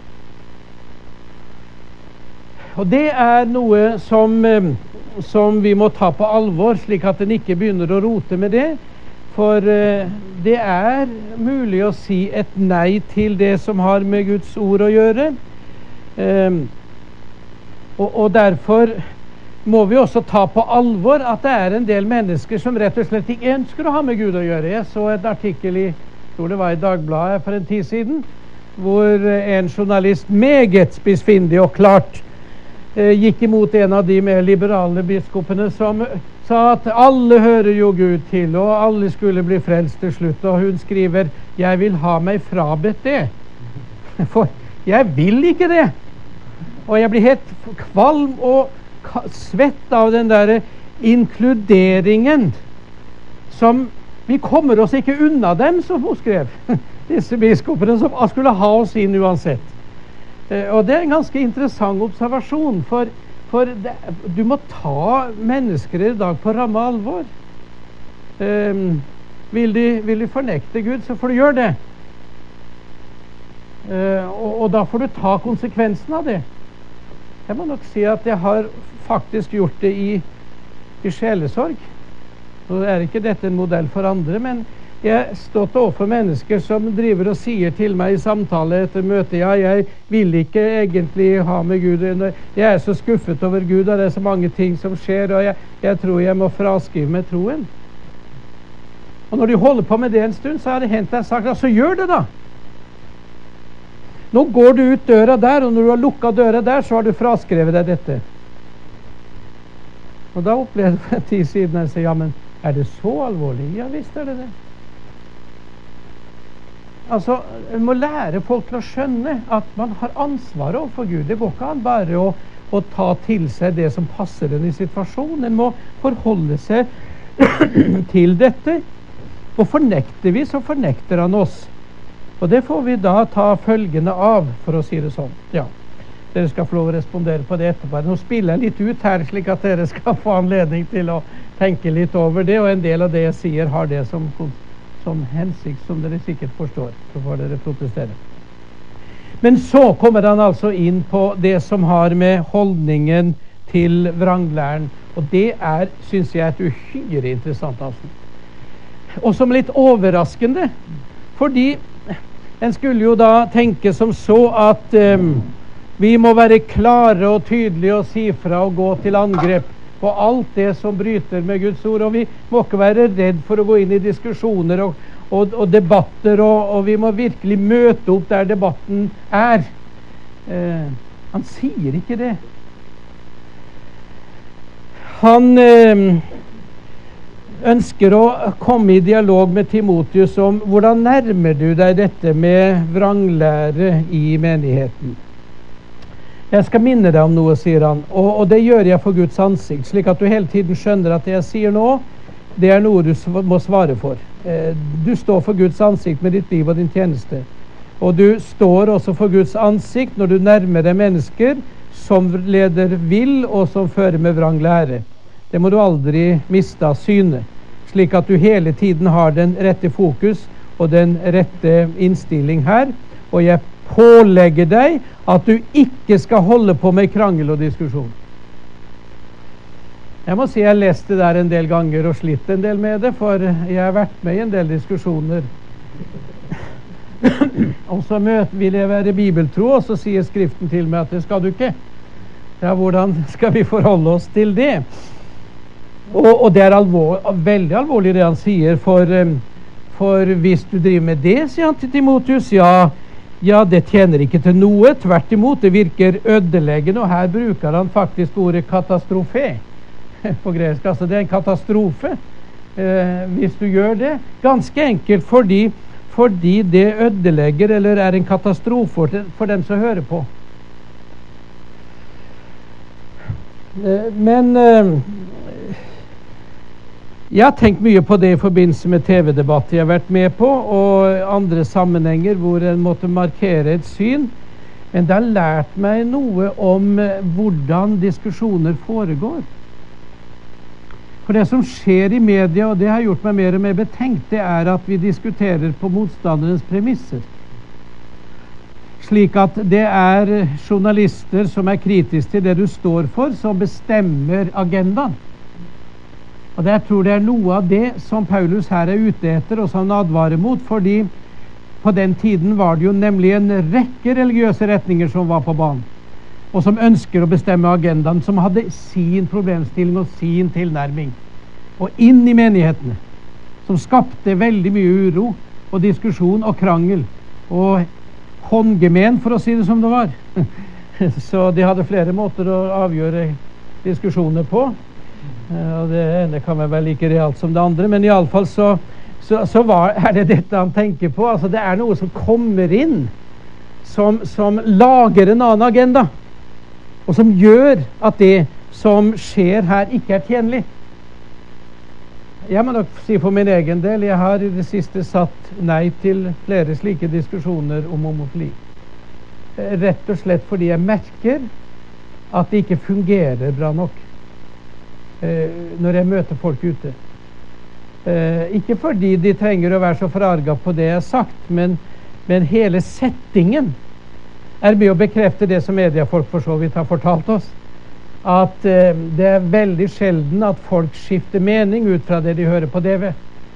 Og det er noe som vi må ta på alvor, slik at den ikke begynner å rote med det. For det er mulig å si et nei til det som har med Guds ord å gjøre. Og derfor må vi også ta på alvor at det er en del mennesker som rett og slett ikke ønsker å ha med Gud å gjøre. Jeg så et artikkel jeg tror det var i Dagbladet for en tid siden, hvor en journalist meget spissfindig og klart gikk imot en av de mer liberale biskopene som sa at alle hører jo Gud til, og alle skulle bli frelst til slutt. Og hun skriver, jeg vil ha meg frabedt det, for jeg vil ikke det. Og jeg blir helt kvalm og svett av den der inkluderingen som vi kommer oss ikke unna dem, som hun skrev. Disse biskopene som skulle ha oss inn uansett. Og det er en ganske interessant observasjon, for du må ta mennesker i dag på ramme alvor. Vil de fornekte Gud, så får du gjøre det. Og da får du ta konsekvensen av det. Jeg må nok si at jeg har faktisk gjort det i sjelesorg. Nå er ikke dette en modell for andre, men jeg har stått overfor mennesker som driver og sier til meg i samtale etter møte, ja, jeg vil ikke egentlig ha med Gud, jeg er så skuffet over Gud, og det er så mange ting som skjer, og jeg tror jeg må fraskrive meg troen. Og når de holder på med det en stund, så har det hendt deg sagt, ja, så gjør det da. Nå går du ut døra der, og når du har lukket døra der, så har du fraskrevet deg dette. Og da opplevde jeg for en tid siden, jeg sier, ja, men er det så alvorlig? Ja, visst er det det. Altså, en må lære folk til å skjønne at man har ansvar overfor Gud. Det går ikke an bare å ta til seg det som passer en i situasjonen. En må forholde seg til dette. Og fornekter vi, så fornekter han oss. Og det får vi da ta følgende av, for å si det sånn. Ja, dere skal få lov å respondere på det etterpå. Nå spiller jeg litt ut her, slik at dere skal få anledning til å tenke litt over det, og en del av det jeg sier har det som hensikt, som dere sikkert forstår. Så får dere protestere. Men så kommer han altså inn på det som har med holdningen til vranglæren, og det er, synes jeg, et uhyre interessant avsnitt. Og som litt overraskende, fordi en skulle jo da tenke som så at vi må være klare og tydelige og si fra og gå til angrep på alt det som bryter med Guds ord, og vi må ikke være redd for å gå inn i diskusjoner og debatter, og vi må virkelig møte opp der debatten er. Han sier ikke det. Han ønsker å komme i dialog med Timotheus om hvordan nærmer du deg dette med vranglære i menigheten. Jeg skal minne deg om noe, sier han, og det gjør jeg for Guds ansikt, slik at du hele tiden skjønner at det jeg sier nå, det er noe du må svare for. Du står for Guds ansikt med ditt liv og din tjeneste, og du står også for Guds ansikt når du nærmer deg mennesker som leder vill og som fører med vrang lære. Det må du aldri miste av syne, slik at du hele tiden har den rette fokus og den rette innstilling her, og jeg pålegger deg at du ikke skal holde på med krangel og diskusjon. Jeg må si jeg har lest det der en del ganger og slitt en del med det, for jeg har vært med i en del diskusjoner. Og så vil jeg være bibeltro, og så sier Skriften til meg at det skal du ikke. Ja, hvordan skal vi forholde oss til det? Og det er veldig alvorlig det han sier, for hvis du driver med det, sier han til Timotheus, ja, det tjener ikke til noe, tvert imot, det virker ødeleggende, og her bruker han faktisk ordet katastrofe på gresk. Altså det er en katastrofe hvis du gjør det, ganske enkelt fordi det ødelegger eller er en katastrofe for dem som hører på. Men jeg har tenkt mye på det i forbindelse med TV-debatter jeg har vært med på, og andre sammenhenger hvor en måtte markere et syn. Men det har lært meg noe om hvordan diskusjoner foregår. For det som skjer i media, og det har gjort meg mer og mer betenkt, det er at vi diskuterer på motstanderens premisser. Slik at det er journalister som er kritiske til det du står for, som bestemmer agendaen. Og jeg tror det er noe av det som Paulus her er ute etter, og som han advarer mot, fordi på den tiden var det jo nemlig en rekke religiøse retninger som var på banen, og som ønsker å bestemme agendaen, som hadde sin problemstilling og sin tilnærming, og inn i menighetene, som skapte veldig mye uro og diskusjon og krangel, og håndgemen, for å si det som det var. Så de hadde flere måter å avgjøre diskusjoner på. Og det ene kan være like realt som det andre, men i alle fall så er det dette han tenker på. Altså det er noe som kommer inn, som lager en annen agenda, og som gjør at det som skjer her ikke er tjenlig. Jeg må nok si for min egen del, jeg har i det siste satt nei til flere slike diskusjoner om homofili. Rett og slett fordi jeg merker at det ikke fungerer bra nok når jeg møter folk ute. Ikke fordi de trenger å være så forarget på det jeg har sagt, men hele settingen er med å bekrefte det som mediefolk for så vidt har fortalt oss. at det veldig sjelden at folk skifter mening ut fra det de hører på TV.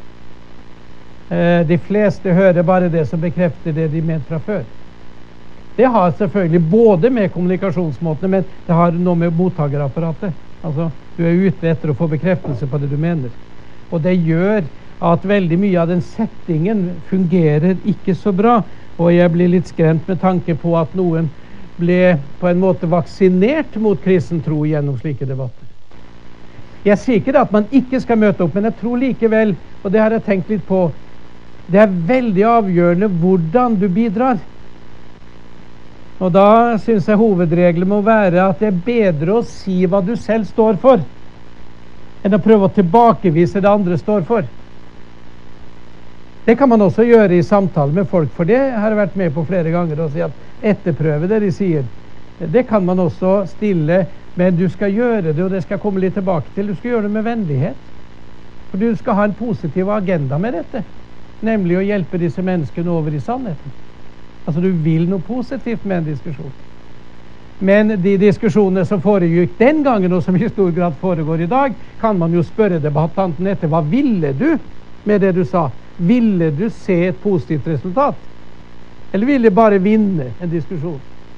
De fleste hører bare det som bekrefter det de mente fra før. Det har selvfølgelig både med kommunikasjonsmåtene, men det har noe med mottakerapparatet. Altså, du er ute etter å få bekreftelse på det du mener. Og det gjør at veldig mye av den settingen fungerer ikke så bra. Og jeg blir litt skremt med tanke på at noen ble på en måte vaksinert mot kristen tro gjennom slike debatter. Jeg sier ikke at man ikke skal møte opp, men jeg tror likevel, og det har jeg tenkt litt på, det er veldig avgjørende hvordan du bidrar. Og da synes jeg hovedregelen må være at det er bedre å si hva du selv står for, enn å prøve å tilbakevise det andre står for. Det kan man også gjøre i samtale med folk, for det har jeg vært med på flere ganger, å si at etterprøve det de sier. Det kan man også stille, men du skal gjøre det, og det skal jeg komme litt tilbake til. Du skal gjøre det med vennlighet. For du skal ha en positiv agenda med dette, nemlig å hjelpe disse menneskene over i sannheten. Altså du vil noe positivt med en diskusjon. Men de diskusjonene som foregikk den gangen, og som i stor grad foregår i dag, kan man jo spørre debattanten etter, hva ville du med det du sa? Ville du se et positivt resultat? Eller ville du bare vinne en diskusjon?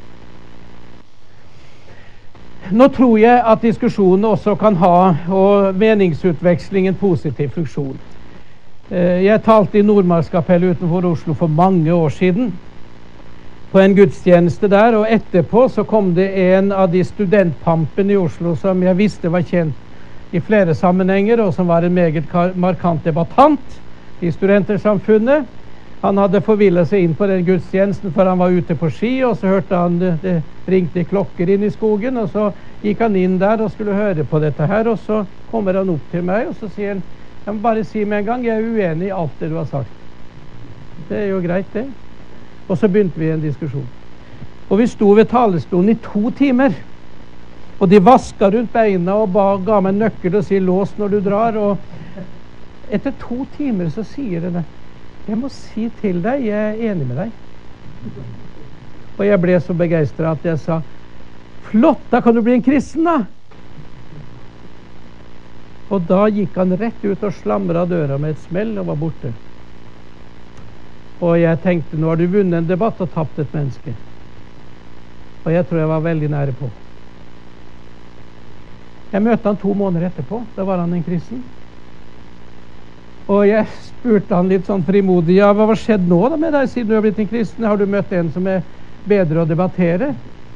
Nå tror jeg at diskusjonen også kan ha, og meningsutveksling, en positiv funksjon. Jeg talte i Nordmarkskapellet utenfor Oslo for mange år siden, på en gudstjeneste der, og etterpå så kom det en av de studentpampene i Oslo som jeg visste var kjent i flere sammenhenger, og som var en meget markant debattant i studentersamfunnet. Han hadde forvillet seg inn på den gudstjenesten, for han var ute på ski, og så hørte han det ringte klokker inn i skogen, og så gikk han inn der og skulle høre på dette her, og så kommer han opp til meg, og så sier han, jeg må bare si med en gang, jeg er uenig i alt det du har sagt. Det er jo greit det. Og så begynte vi en diskusjon. Og vi sto ved talerstolen i 2 timer, og de vasket rundt beina og ga meg nøkkel og sier, lås når du drar, og etter 2 timer så sier det, jeg må si til deg, jeg er enig med deg. Og jeg ble så begeistret at jeg sa, flott, da kan du bli en kristen da. Og da gikk han rett ut og slamret døra med et smell og var borte. Og jeg tenkte, nå har du vunnet en debatt og tapt et menneske. Og jeg tror jeg var veldig nære på. Jeg møtte han 2 måneder etterpå, da var han en kristen. Og jeg spurte han litt sånn frimodig, ja, hva har skjedd nå da med deg siden du har blitt en kristen? Har du møtt en som er bedre å debattere?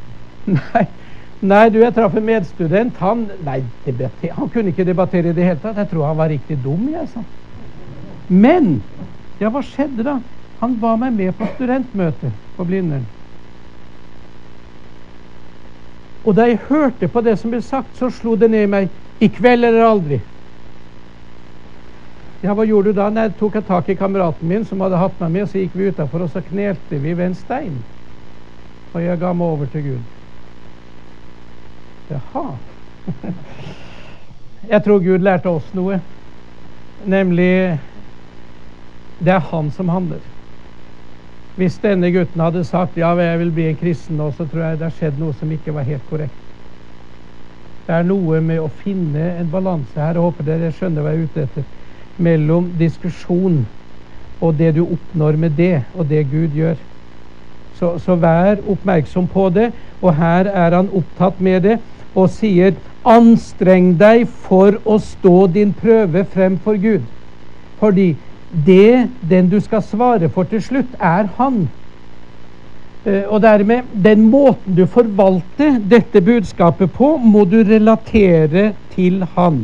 Nei, du, jeg traff en medstudent, han kunne ikke debattere i det hele tatt. Jeg tror han var riktig dum, jeg sa. Men, ja, hva skjedde da? Han var meg med på studentmøte på Blindern. Og da jeg hørte på det som ble sagt, så slo det ned i meg, i kveld eller aldri. Ja, hva gjorde du da? Nei, tok jeg tak i kameraten min som hadde hatt meg med, så gikk vi utenfor, og så knelte vi ved en stein. Og jeg ga meg over til Gud. Jaha. Jeg tror Gud lærte oss noe. Nemlig, det er han som handler. Hvis denne gutten hadde sagt, ja, jeg vil bli en kristen nå, så tror jeg det har skjedd noe som ikke var helt korrekt. Det er noe med å finne en balanse her, og håper dere skjønner hva jeg er ute etter, mellom diskusjon og det du oppnår med det, og det Gud gjør. Så vær oppmerksom på det, og her er han opptatt med det, og sier, anstreng deg for å stå din prøve frem for Gud. Fordi den du skal svare for til slutt, er han. Og dermed, den måten du forvalter dette budskapet på, må du relatere til han.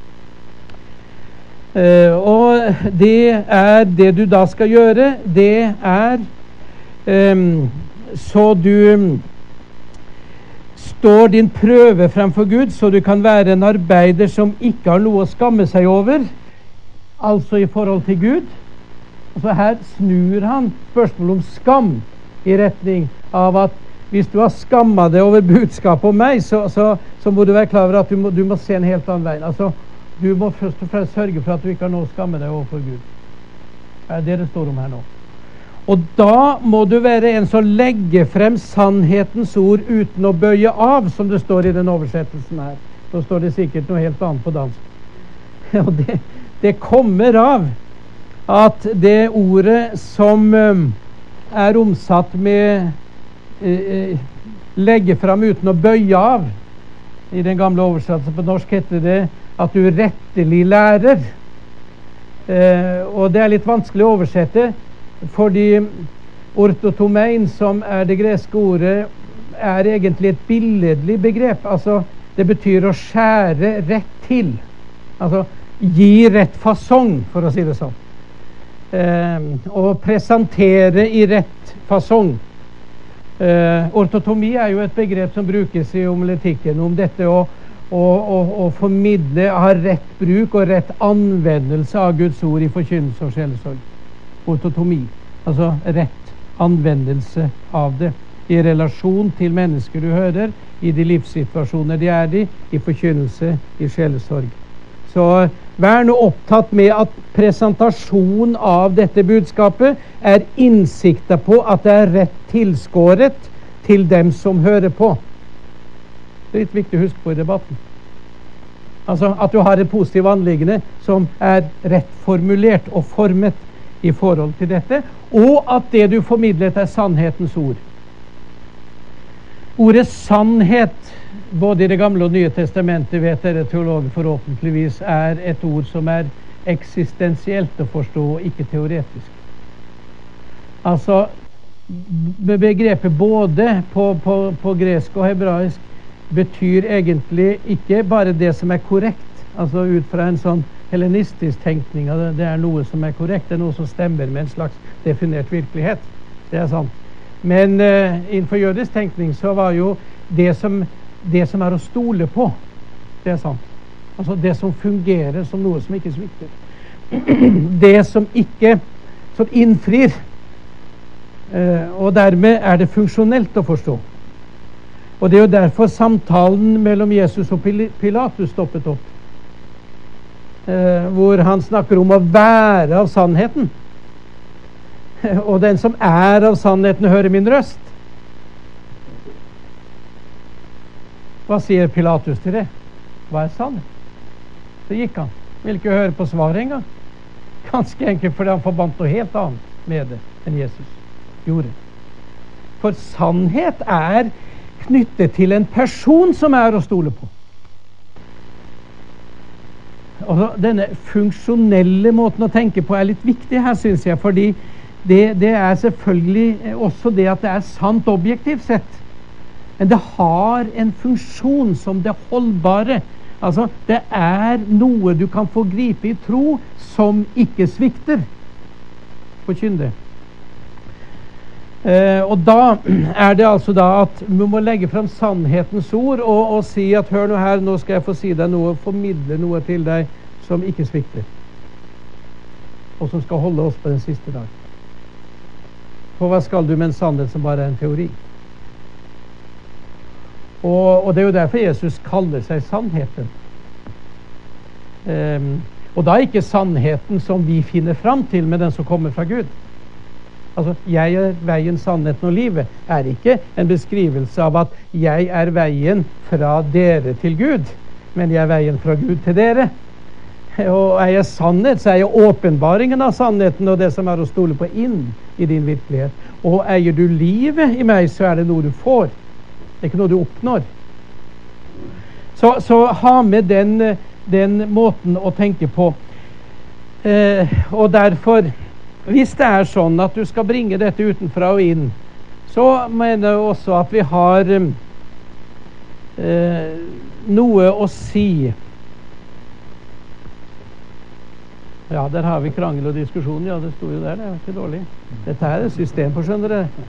Og det er det du da skal gjøre, det er så du står din prøve fremfor Gud, så du kan være en arbeider som ikke har noe å skamme seg over, altså i forhold til Gud. Altså her snur han spørsmålet om skam i retning av at hvis du har skammet deg over budskapet om meg, så må du være klar over at du må se en helt annen vei. Altså, du må først og fremst sørge for at du ikke har noe å skamme deg overfor Gud. Det er det det står om her nå. Og da må du være en som legger frem sannhetens ord uten å bøye av, som det står i den oversettelsen her. Så står det sikkert noe helt annet på dansk. Og det kommer av at det ordet som er omsatt med legge frem uten å bøye av, i den gamle oversettelsen på norsk heter det at du rettelig lærer. Og det er litt vanskelig å oversette, fordi ortotomein, som er det greske ordet, er egentlig et billedlig begrep. Altså, det betyr å skjære rett til. Altså, gi rett fasong, for å si det sånn. Og presentere i rett fasong. Ortotomi er jo et begrep som brukes i homiletikken om dette å formidle, ha rett bruk og rett anvendelse av Guds ord i forkynnelse og sjelesorg. Ortotomi, altså rett anvendelse av det i relasjon til mennesker du hører, i de livssituasjoner de er i forkynnelse, i sjelesorg. Så vær nå opptatt med at presentasjon av dette budskapet er innsikta på at det er rett tilskåret til dem som hører på. Det er litt viktig å huske på i debatten. Altså at du har et positivt anliggende som er rett formulert og formet i forhold til dette, og at det du formidlet er sannhetens ord. Ordet sannhet, både i Det gamle og Nye testamentet, vet dere teologer forhåpentligvis, er et ord som er eksistensielt å forstå, og ikke teoretisk. Altså, begrepet både på gresk og hebraisk betyr egentlig ikke bare det som er korrekt, altså ut fra en sånn hellenistisk tenkning, det er noe som er korrekt, det er noe som stemmer med en slags definert virkelighet. Det er sant. Men innenfor jødisk tenkning så var jo det som er å stole på, det er sant. Altså det som fungerer som noe som ikke svikter. Det som innfrir. Og dermed er det funksjonelt å forstå. Og det er jo derfor samtalen mellom Jesus og Pilatus stoppet opp. Hvor han snakker om å være av sannheten. Og den som er av sannheten hører min røst. Hva sier Pilatus til det? Hva er sannhet? Så gikk han. Vil ikke høre på svaret engang. Ganske enkelt fordi han forbandt noe helt annet med det enn Jesus gjorde. For sannhet er knyttet til en person som er å stole på. Og denne funksjonelle måten å tenke på er litt viktig her, synes jeg, fordi det er selvfølgelig også det at det er sant objektivt sett. Men det har en funksjon som det holdbare. Altså, det er noe du kan få gripe i tro som ikke svikter. Forkynn det. Og da er det altså da at vi må legge frem sannhetens ord og si at hør nå her, nå skal jeg få si deg noe, formidle noe til deg som ikke svikter. Og som skal holde oss på den siste dag. For hva skal du med en sannhet som bare er en teori? Og det er jo derfor Jesus kaller seg sannheten. Og da ikke sannheten som vi finner fram til, men den som kommer fra Gud. Altså, jeg er veien, sannheten og livet er ikke en beskrivelse av at jeg er veien fra dere til Gud, men jeg er veien fra Gud til dere. Og er jeg sannhet, så er jeg åpenbaringen av sannheten og det som er å stole på inn i din virkelighet. Og eier du livet i meg, så er det noe du får. Det er ikke noe du oppnår. Så ha med den måten å tenke på. Og derfor, hvis det er sånn at du skal bringe dette utenfra og inn, så mener jeg også at vi har noe å si. Ja, der har vi krangel og diskusjon. Ja, det sto jo der, det er ikke dårlig. Dette er et system på, skjønner dere.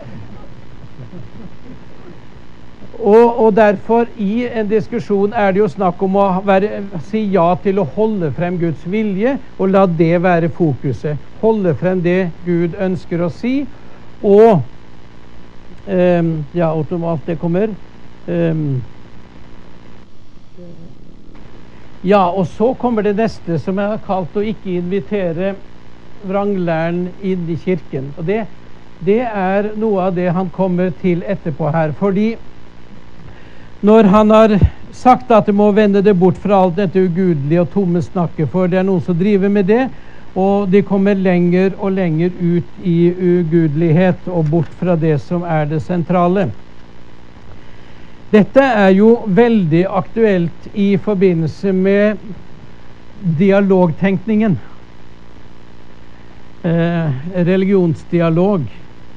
Og derfor i en diskusjon er det jo snakk om å si ja til å holde frem Guds vilje og la det være fokuset. Holde frem det Gud ønsker å si, og ja, automat det kommer. Ja, og så kommer det neste som jeg har kalt å ikke invitere vranglæren inn i kirken. Og det er noe av det han kommer til etterpå her. Fordi når han har sagt at du må vende det bort fra alt dette ugudelige og tomme snakket, for det er noen som driver med det, og de kommer lenger og lenger ut i ugudelighet og bort fra det som er det sentrale. Dette er jo veldig aktuelt i forbindelse med dialogtenkningen. Religionsdialog.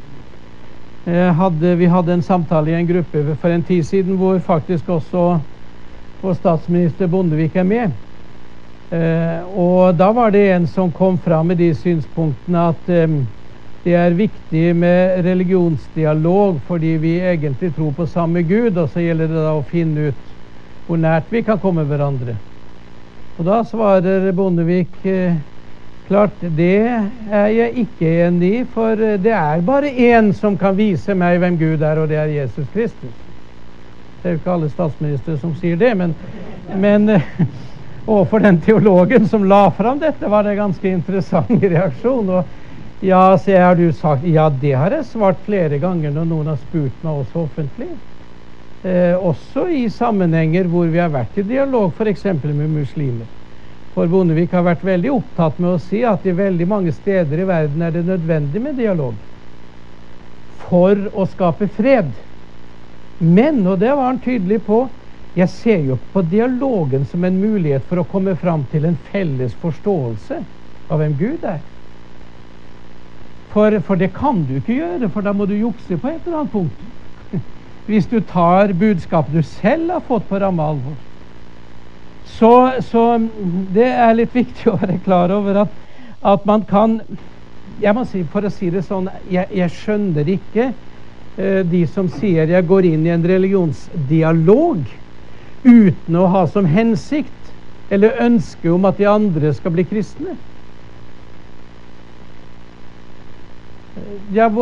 Vi hadde en samtale i en gruppe for en tid siden hvor faktisk også vår statsminister Bondevik er med. Og da var det en som kom fram med de synspunktene at det er viktig med religionsdialog fordi vi egentlig tror på samme Gud, og så gjelder det da å finne ut hvor nært vi kan komme hverandre. Og da svarer Bondevik klart, det er jeg ikke enig i, for det er bare en som kan vise meg hvem Gud er, og det er Jesus Kristus. Det er jo ikke alle statsministre som sier det, men overfor den teologen som la fram dette, var det ganske interessant reaksjon. Og ja, så har du sagt, ja, det har jeg svart flere ganger når noen har spurt meg også offentlig. Også i sammenhenger hvor vi har vært i dialog, for eksempel med muslimer. For Bondevik har vært veldig opptatt med å si at i veldig mange steder i verden er det nødvendig med dialog for å skape fred. Men, og det var han tydelig på, jeg ser jo på dialogen som en mulighet for å komme fram til en felles forståelse av hvem Gud er. For det kan du ikke gjøre, for da må du jukse på et eller annet punkt. Hvis du tar budskapet du selv har fått på ramme alvor. Så det er litt viktig å være klar over at man kan, jeg må si, for å si det sånn, jeg skjønner ikke de som sier jeg går inn i en religionsdialog uten å ha som hensikt eller ønske om at de andre skal bli kristne. Ja,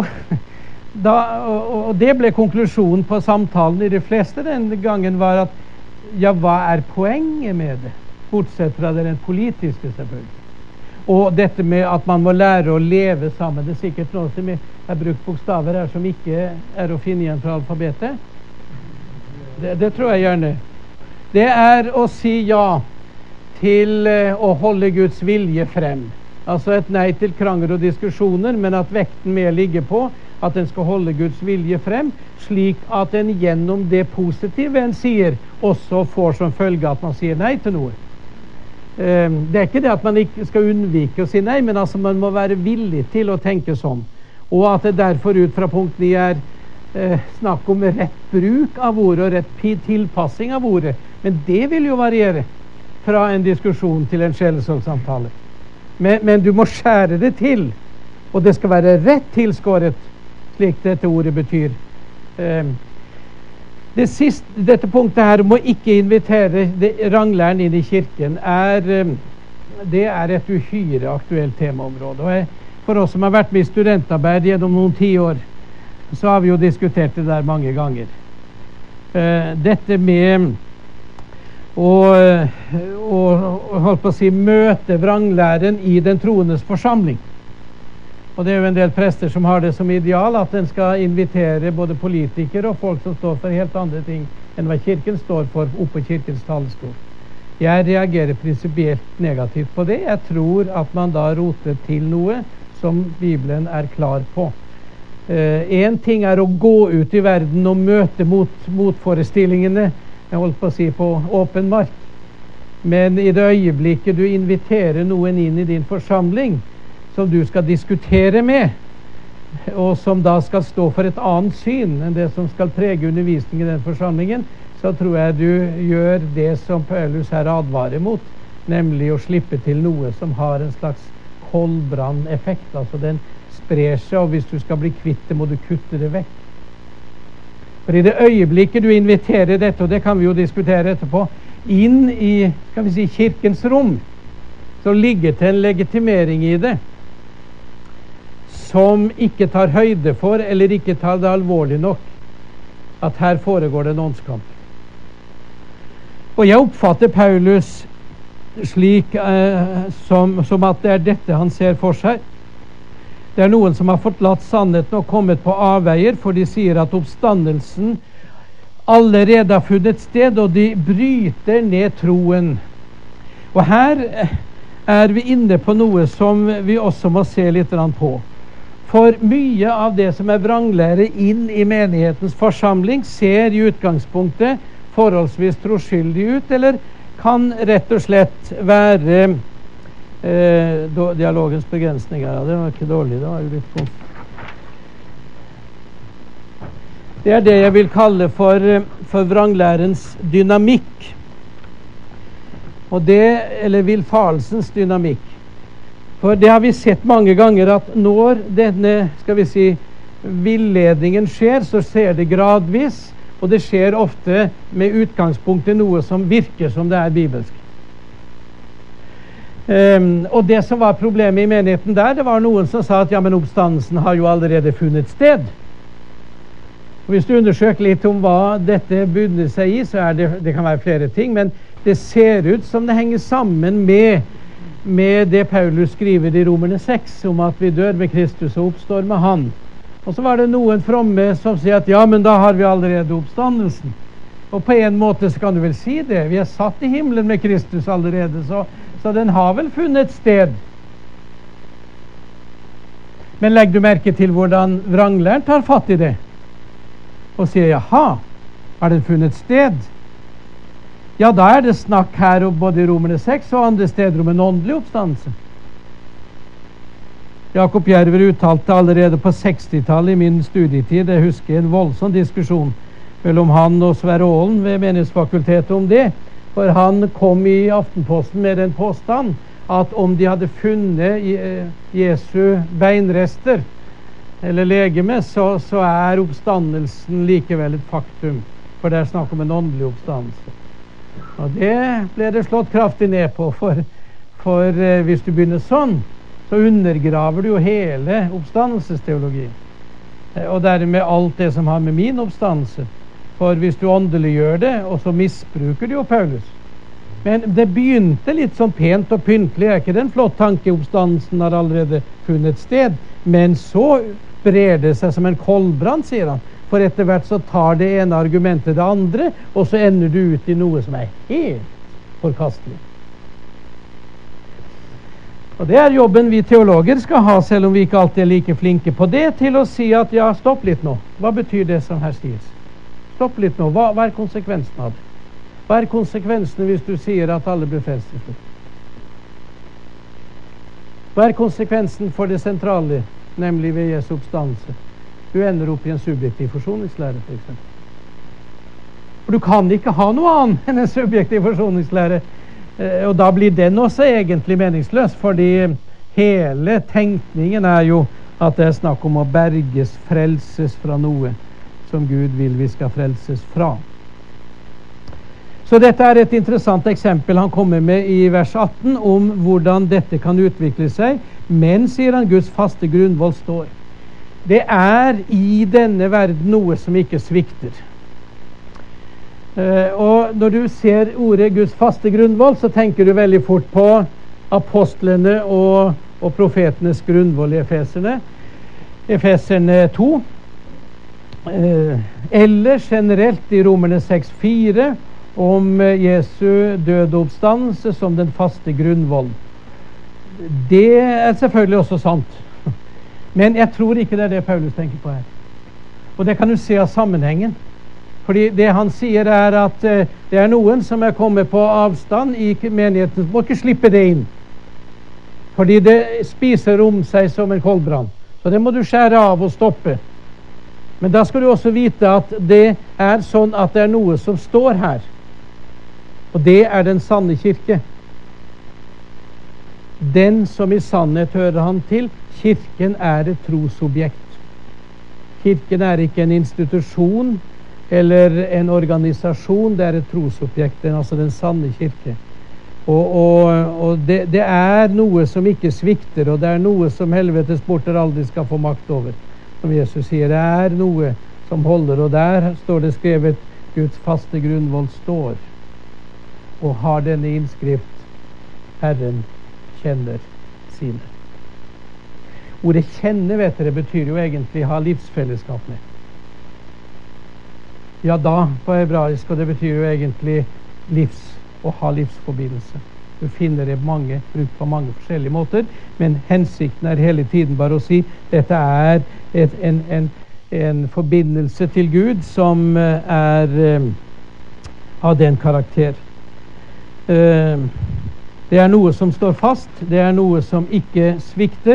og det ble konklusjonen på samtalen i de fleste den gangen var at ja, hva er poenget med det? Bortsett fra det rent politiske, selvfølgelig. Og dette med at man må lære å leve sammen. Det er sikkert noe som er brukt bokstaver her som ikke er å finne igjen fra alfabetet. Det tror jeg gjerne. Det er å si ja til å holde Guds vilje frem. Altså et nei til krangler og diskusjoner, men at vekten mer ligger på at en skal holde Guds vilje frem, slik at en gjennom det positive en sier, også får som følge at man sier nei til noe. Det er ikke det at man ikke skal unnvike å si nei, men altså man må være villig til å tenke sånn. Og at det derfor ut fra punkt 9 er snakk om rett bruk av ordet og rett tilpassing av ordet. Men det vil jo variere fra en diskusjon til en sjelesorgsamtale. Men du må skjære det til, og det skal være rett tilskåret, slik dette ordet betyr. Dette punktet her om å ikke invitere ranglæren inn i kirken det er et uhyre aktuelt temaområde. Og for oss som har vært med i studentarbeid gjennom noen 10 år, så har vi jo diskutert det der mange ganger. Dette med å holdt på å si møte vranglæren i den troendes forsamling. Og det er jo en del prester som har det som ideal at en skal invitere både politikere og folk som står for helt andre ting enn hva kirken står for oppe på kirkens talerstol. Jeg reagerer prinsipielt negativt på det. Jeg tror at man da roter til noe som Bibelen er klar på. En ting er å gå ut i verden og møte motforestillingene, jeg holdt på å si på åpen mark. Men i det øyeblikket du inviterer noen inn i din forsamling, som du skal diskutere med, og som da skal stå for et annet syn enn det som skal prege undervisningen i den forsamlingen, så tror jeg du gjør det som Paulus her advarer mot, nemlig å slippe til noe som har en slags koldbranneffekt. Altså den sprer seg, og hvis du skal bli kvitt det, må du kutte det vekk. For i det øyeblikket du inviterer dette, og det kan vi jo diskutere etterpå, inn i, skal vi si, kirkens rom, så ligger det en legitimering i det som ikke tar høyde for, eller ikke tar det alvorlig nok, at her foregår det en åndskamp. Og jeg oppfatter Paulus slik som at det er dette han ser for seg. Det noen som har forlatt sannheten og kommet på avveier, for de sier at oppstandelsen allerede har funnet sted, og de bryter ned troen. Og her er vi inne på noe som vi også må se litt på. For mye av det som er vranglære inn i menighetens forsamling, ser i utgangspunktet forholdsvis troskyldig ut, eller kan rett og slett være dialogens begrensninger. Ja, det var ikke dårlig, det var jo litt godt. Det er det jeg vil kalle for vranglærens dynamikk. Og det, eller villfarelsens dynamikk. For det har vi sett mange ganger, at når denne, skal vi si, villedningen skjer, så skjer det gradvis, og det skjer ofte med utgangspunkt i noe som virker som det er bibelsk. Og det som var problemet i menigheten der, det var noen som sa at ja, men oppstandelsen har jo allerede funnet sted. Og hvis du undersøker litt om hva dette bunner seg i, så er det kan være flere ting, men det ser ut som det henger sammen med det Paulus skriver i Romerne 6, om at vi dør med Kristus og oppstår med han. Og så var det noen fromme som sier at ja, men da har vi allerede oppstandelsen. Og på en måte så kan du vel si det. Vi er satt i himmelen med Kristus allerede, så den har vel funnet sted. Men legg du merke til hvordan vranglæren tar fatt i det og sier, jaha, har den funnet sted? Ja, da er det snakk her om både i Romerne 6 og andre steder om en åndelig oppstandelse. Jakob Jerver uttalte allerede på 60-tallet i min studietid, jeg husker en voldsom diskusjon mellom han og Sverre Aalen ved Menighetsfakultetet om det, for han kom i Aftenposten med den påstand at om de hadde funnet Jesu beinrester eller legeme, så er oppstandelsen likevel et faktum, for det er snakk om en åndelig oppstandelse. Og det ble det slått kraftig ned på, for hvis du begynner sånn, så undergraver du jo hele oppstandelsesteologien, og dermed alt det som har med min oppstandelse. For hvis du åndelig gjør det, og så misbruker du jo Paulus. Men det begynte litt sånn pent og pyntelig, er ikke det en flott tanke? Oppstandelsen har allerede funnet sted, men så brer det seg som en koldbrann, sier han. For etter hvert så tar det ene argumentet det andre, og så ender du ut i noe som er helt forkastelig. Og det er jobben vi teologer skal ha, selv om vi ikke alltid er like flinke på det, til å si at ja, stopp litt nå. Hva betyr det som her sies? Stopp litt nå. Hva er konsekvensen av det? Hva er konsekvensen hvis du sier at alle blir frelst til slutt? Hva er konsekvensen for det sentrale, nemlig ved Jesu oppstandelse? Du ender opp i en subjektiv forsoningslære, for eksempel. For du kan ikke ha noe annet enn en subjektiv forsoningslære. Og da blir den også egentlig meningsløs, fordi hele tenkningen er jo at det er snakk om å berges, frelses fra noe som Gud vil vi skal frelses fra. Så dette er et interessant eksempel han kommer med i vers 18 om hvordan dette kan utvikle seg, men, sier han, Guds faste grunnvoll står. Det er i denne verden noe som ikke svikter. Og når du ser ordet Guds faste grunnvoll, så tenker du veldig fort på apostlene og profetenes grunnvoll i Efeserne 2, eller generelt i Romerne 6,4 om Jesu døde oppstandelse som den faste grunnvoll. Det er selvfølgelig også sant, men jeg tror ikke det er det Paulus tenker på her. Og det kan du se av sammenhengen. Fordi det han sier er at det er noen som er kommet på avstand i menigheten, må ikke slippe det inn. Fordi det spiser om seg som en koldbrann. Så det må du skjære av og stoppe. Men da skal du også vite at det er sånn at det er noe som står her. Og det er den sanne kirke. Den som i sannhet hører han til. Kirken er et trosobjekt. Kirken er ikke en institusjon eller en organisasjon, det er et trosobjekt, altså den sanne kirke. Og det er noe som ikke svikter, og det er noe som helvetes porter aldri skal få makt over. Som Jesus sier, det er noe som holder, og der står det skrevet, Guds faste grunnvoll står, og har denne innskrift, Herren kjenner sine. Ordet kjenne, vet dere, betyr jo egentlig ha livsfellesskap med. Ja da, på hebraisk, og det betyr jo egentlig å ha livsforbindelse. Du finner det brukt på mange forskjellige måter, men hensikten er hele tiden bare å si dette er en forbindelse til Gud som er av den karakter. Det er noe som står fast, det er noe som ikke svikter,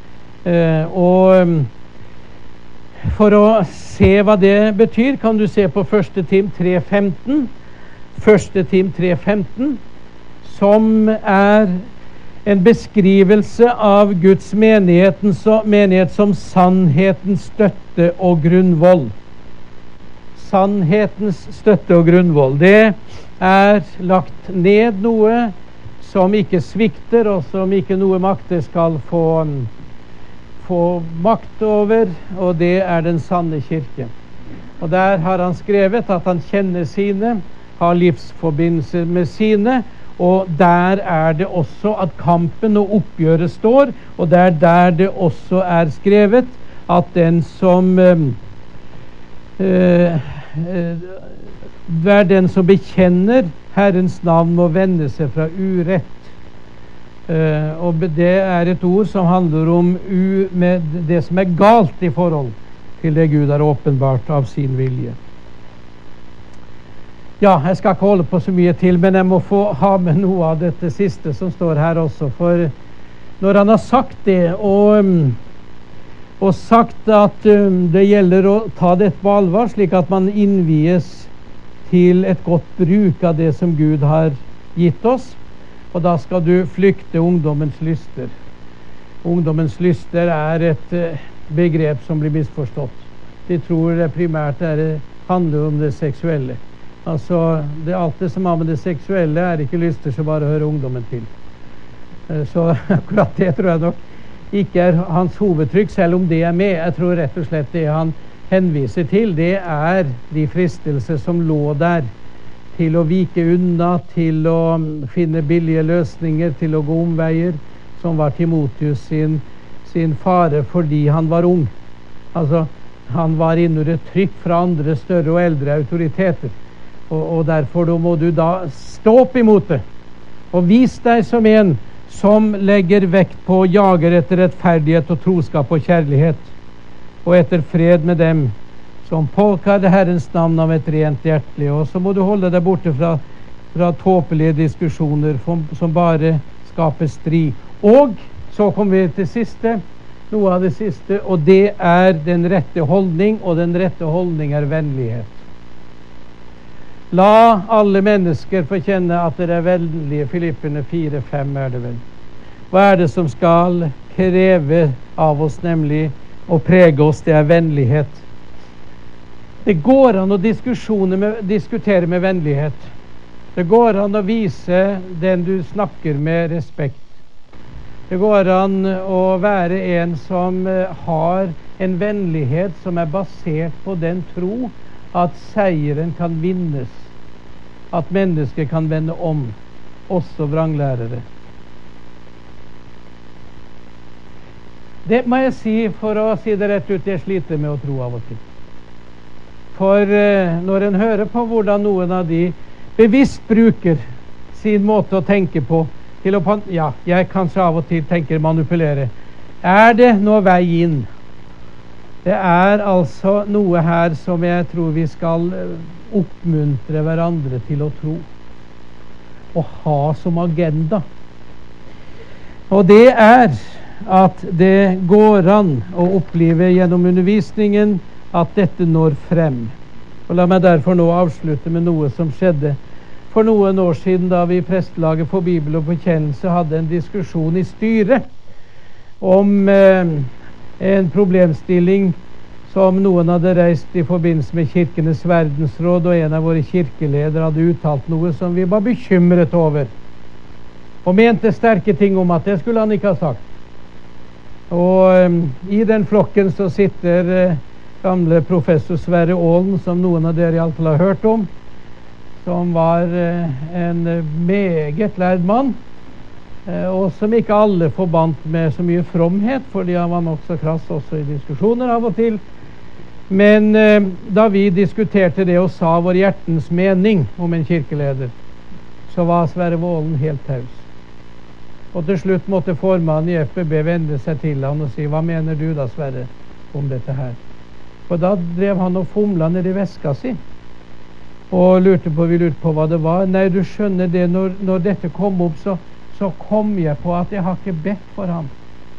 og for å se hva det betyr, kan du se på 1. Tim 3,15. 1. Tim 3,15, som er en beskrivelse av Guds menighet som sannhetens støtte og grunnvoll. Sannhetens støtte og grunnvoll. Det er lagt ned noe som ikke svikter, og som ikke noe makter skal få makt over, og det er den sanne kirke. Og der har han skrevet at han kjenner sine, har livsforbindelse med sine, og der er det også at kampen og oppgjøret står, og det er der det også er skrevet at den som hver den som bekjenner Herrens navn må vende seg fra urett. Og det er et ord som handler om med det som er galt i forhold til det Gud har åpenbart av sin vilje. Ja, jeg skal ikke holde på så mye til, men jeg må få ha med noe av dette siste som står her også. For når han har sagt det, og sagt at det gjelder å ta dette på alvor, slik at man innvies til et godt bruk av det som Gud har gitt oss, og da skal du flykte ungdommens lyster. Ungdommens lyster er et begrep som blir misforstått. De tror det primært handler om det seksuelle. Altså, alt det som har med det seksuelle er ikke lyster som bare hører ungdommen til. Så akkurat det tror jeg nok ikke er hans hovedtrykk, selv om det er med. Jeg tror rett og slett det han henviser til, det er de fristelser som lå der til å vike unna, til å finne billige løsninger, til å gå omveier, som var Timotheus sin fare fordi han var ung. Altså, han var innunder et trykk fra andre større og eldre autoriteter. Og derfor må du da stå opp imot det, og vis deg som en som legger vekt på og jager etter rettferdighet og troskap og kjærlighet, og etter fred med dem som påkaller Herrens navn av et rent hjertelig. Og så må du holde deg borte fra tåpelige diskusjoner som bare skaper strid. Og så kommer vi til noe av det siste, og det er den rette holdning, og den rette holdning er vennlighet. La alle mennesker få kjenne at dere er vennlige. Filipperne 4,5 er det vel. Hva er det som skal kreve av oss, nemlig å prege oss? Det er vennlighet. Det går an å diskutere med vennlighet. Det går an å vise den du snakker med, respekt. Det går an å være en som har en vennlighet som er basert på den tro at seieren kan vinnes, at mennesker kan vende om, også vranglærere. Det må jeg si, for å si det rett ut, jeg sliter med å tro av og til. For når en hører på hvordan noen av de bevisst bruker sin måte å tenke på, til å, ja, jeg kanskje av og til tenker manipulere, er det noe vei inn? Det er altså noe her som jeg tror vi skal oppmuntre hverandre til å tro og ha som agenda. Og det er at det går an å oppleve gjennom undervisningen at dette når frem. Og la meg derfor nå avslutte med noe som skjedde for noen år siden, da vi i Prestelaget for Bibel og Bekjennelse hadde en diskusjon i styret om en problemstilling som noen hadde reist i forbindelse med Kirkenes verdensråd, og en av våre kirkeledere hadde uttalt noe som vi var bekymret over, og mente sterke ting om at det skulle han ikke ha sagt. Og i den flokken så sitter gamle professor Sverre Aalen, som noen av dere i alle fall har hørt om, som var en meget lærd mann, og som ikke alle forbandt med så mye fromhet, fordi han var nok så krass også i diskusjoner av og til. Men da vi diskuterte det og sa vår hjertens mening om en kirkeleder, så var Sverre Vålen helt taus. Og til slutt måtte formannen i FBB vende seg til han og si: hva mener du da, Sverre, om dette her? For da drev han og fomla ned i veska si og vi lurte på hva det var. Nei, du skjønner det, når dette kom opp, så kom jeg på at jeg har ikke bedt for ham.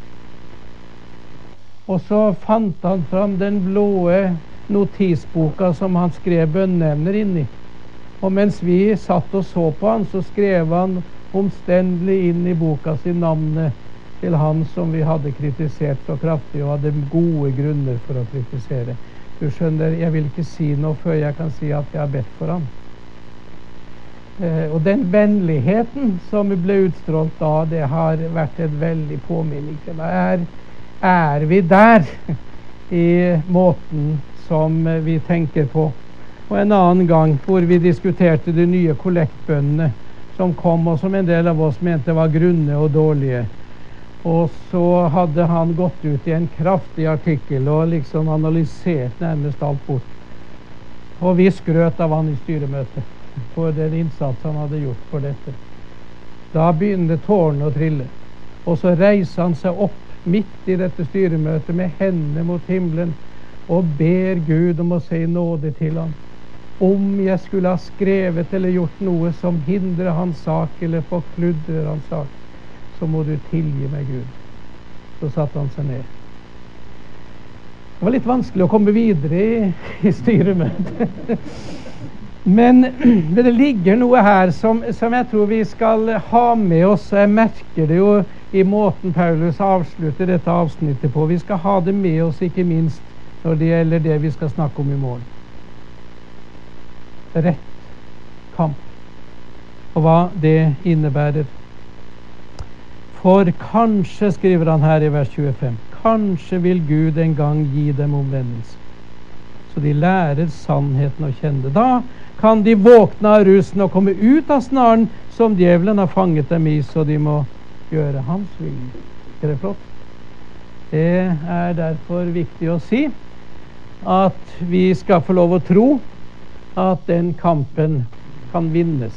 Og så fant han fram den blå notisboka som han skrev bønneemner inn i. Og mens vi satt og så på han, så skrev han omstendelig inn i boka si navnet til han som vi hadde kritisert så kraftig, og hadde gode grunner for å kritisere. Du skjønner, jeg vil ikke si noe før jeg kan si at jeg har bedt for ham. Og den vennligheten som ble utstrålt da, det har vært et veldig påminnelse. Er vi der i måten som vi tenker på? Og en annen gang hvor vi diskuterte de nye kollektbønnene som kom, og som en del av oss mente var grunne og dårlige. Og så hadde han gått ut i en kraftig artikkel og liksom analysert nærmest alt bort. Og vi skrøt av han i styremøtet for den innsats han hadde gjort for dette. Da begynte tårene å trille. Og så reiser han seg opp midt i dette styremøtet med hendene mot himmelen og ber Gud om å se nåde til ham. Om jeg skulle ha skrevet eller gjort noe som hindrer hans sak eller forkludrer hans sak, så må du tilgi meg, Gud. Så satte han seg ned. Det var litt vanskelig å komme videre i styremøtet. Men det ligger noe her som jeg tror vi skal ha med oss. Jeg merker det jo i måten Paulus avslutter dette avsnittet på. Vi skal ha det med oss, ikke minst når det gjelder det vi skal snakke om i morgen. Rett kamp, og hva det innebærer. For kanskje, skriver han her i vers 25, kanskje vil Gud en gang gi dem omvendelse, så de lærer sannheten å kjenne. Da kan de våkne av rusen og komme ut av snaren som djevelen har fanget dem i, så de må gjøre hans vilje. Er det flott? Det er derfor viktig å si at vi skal få lov å tro at den kampen kan vinnes.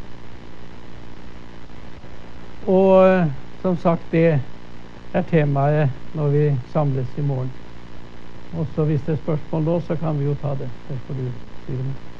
Og som sagt, det er temaet når vi samles i morgen. Og så hvis det er spørsmål da, så kan vi jo ta det. Det får du si det med.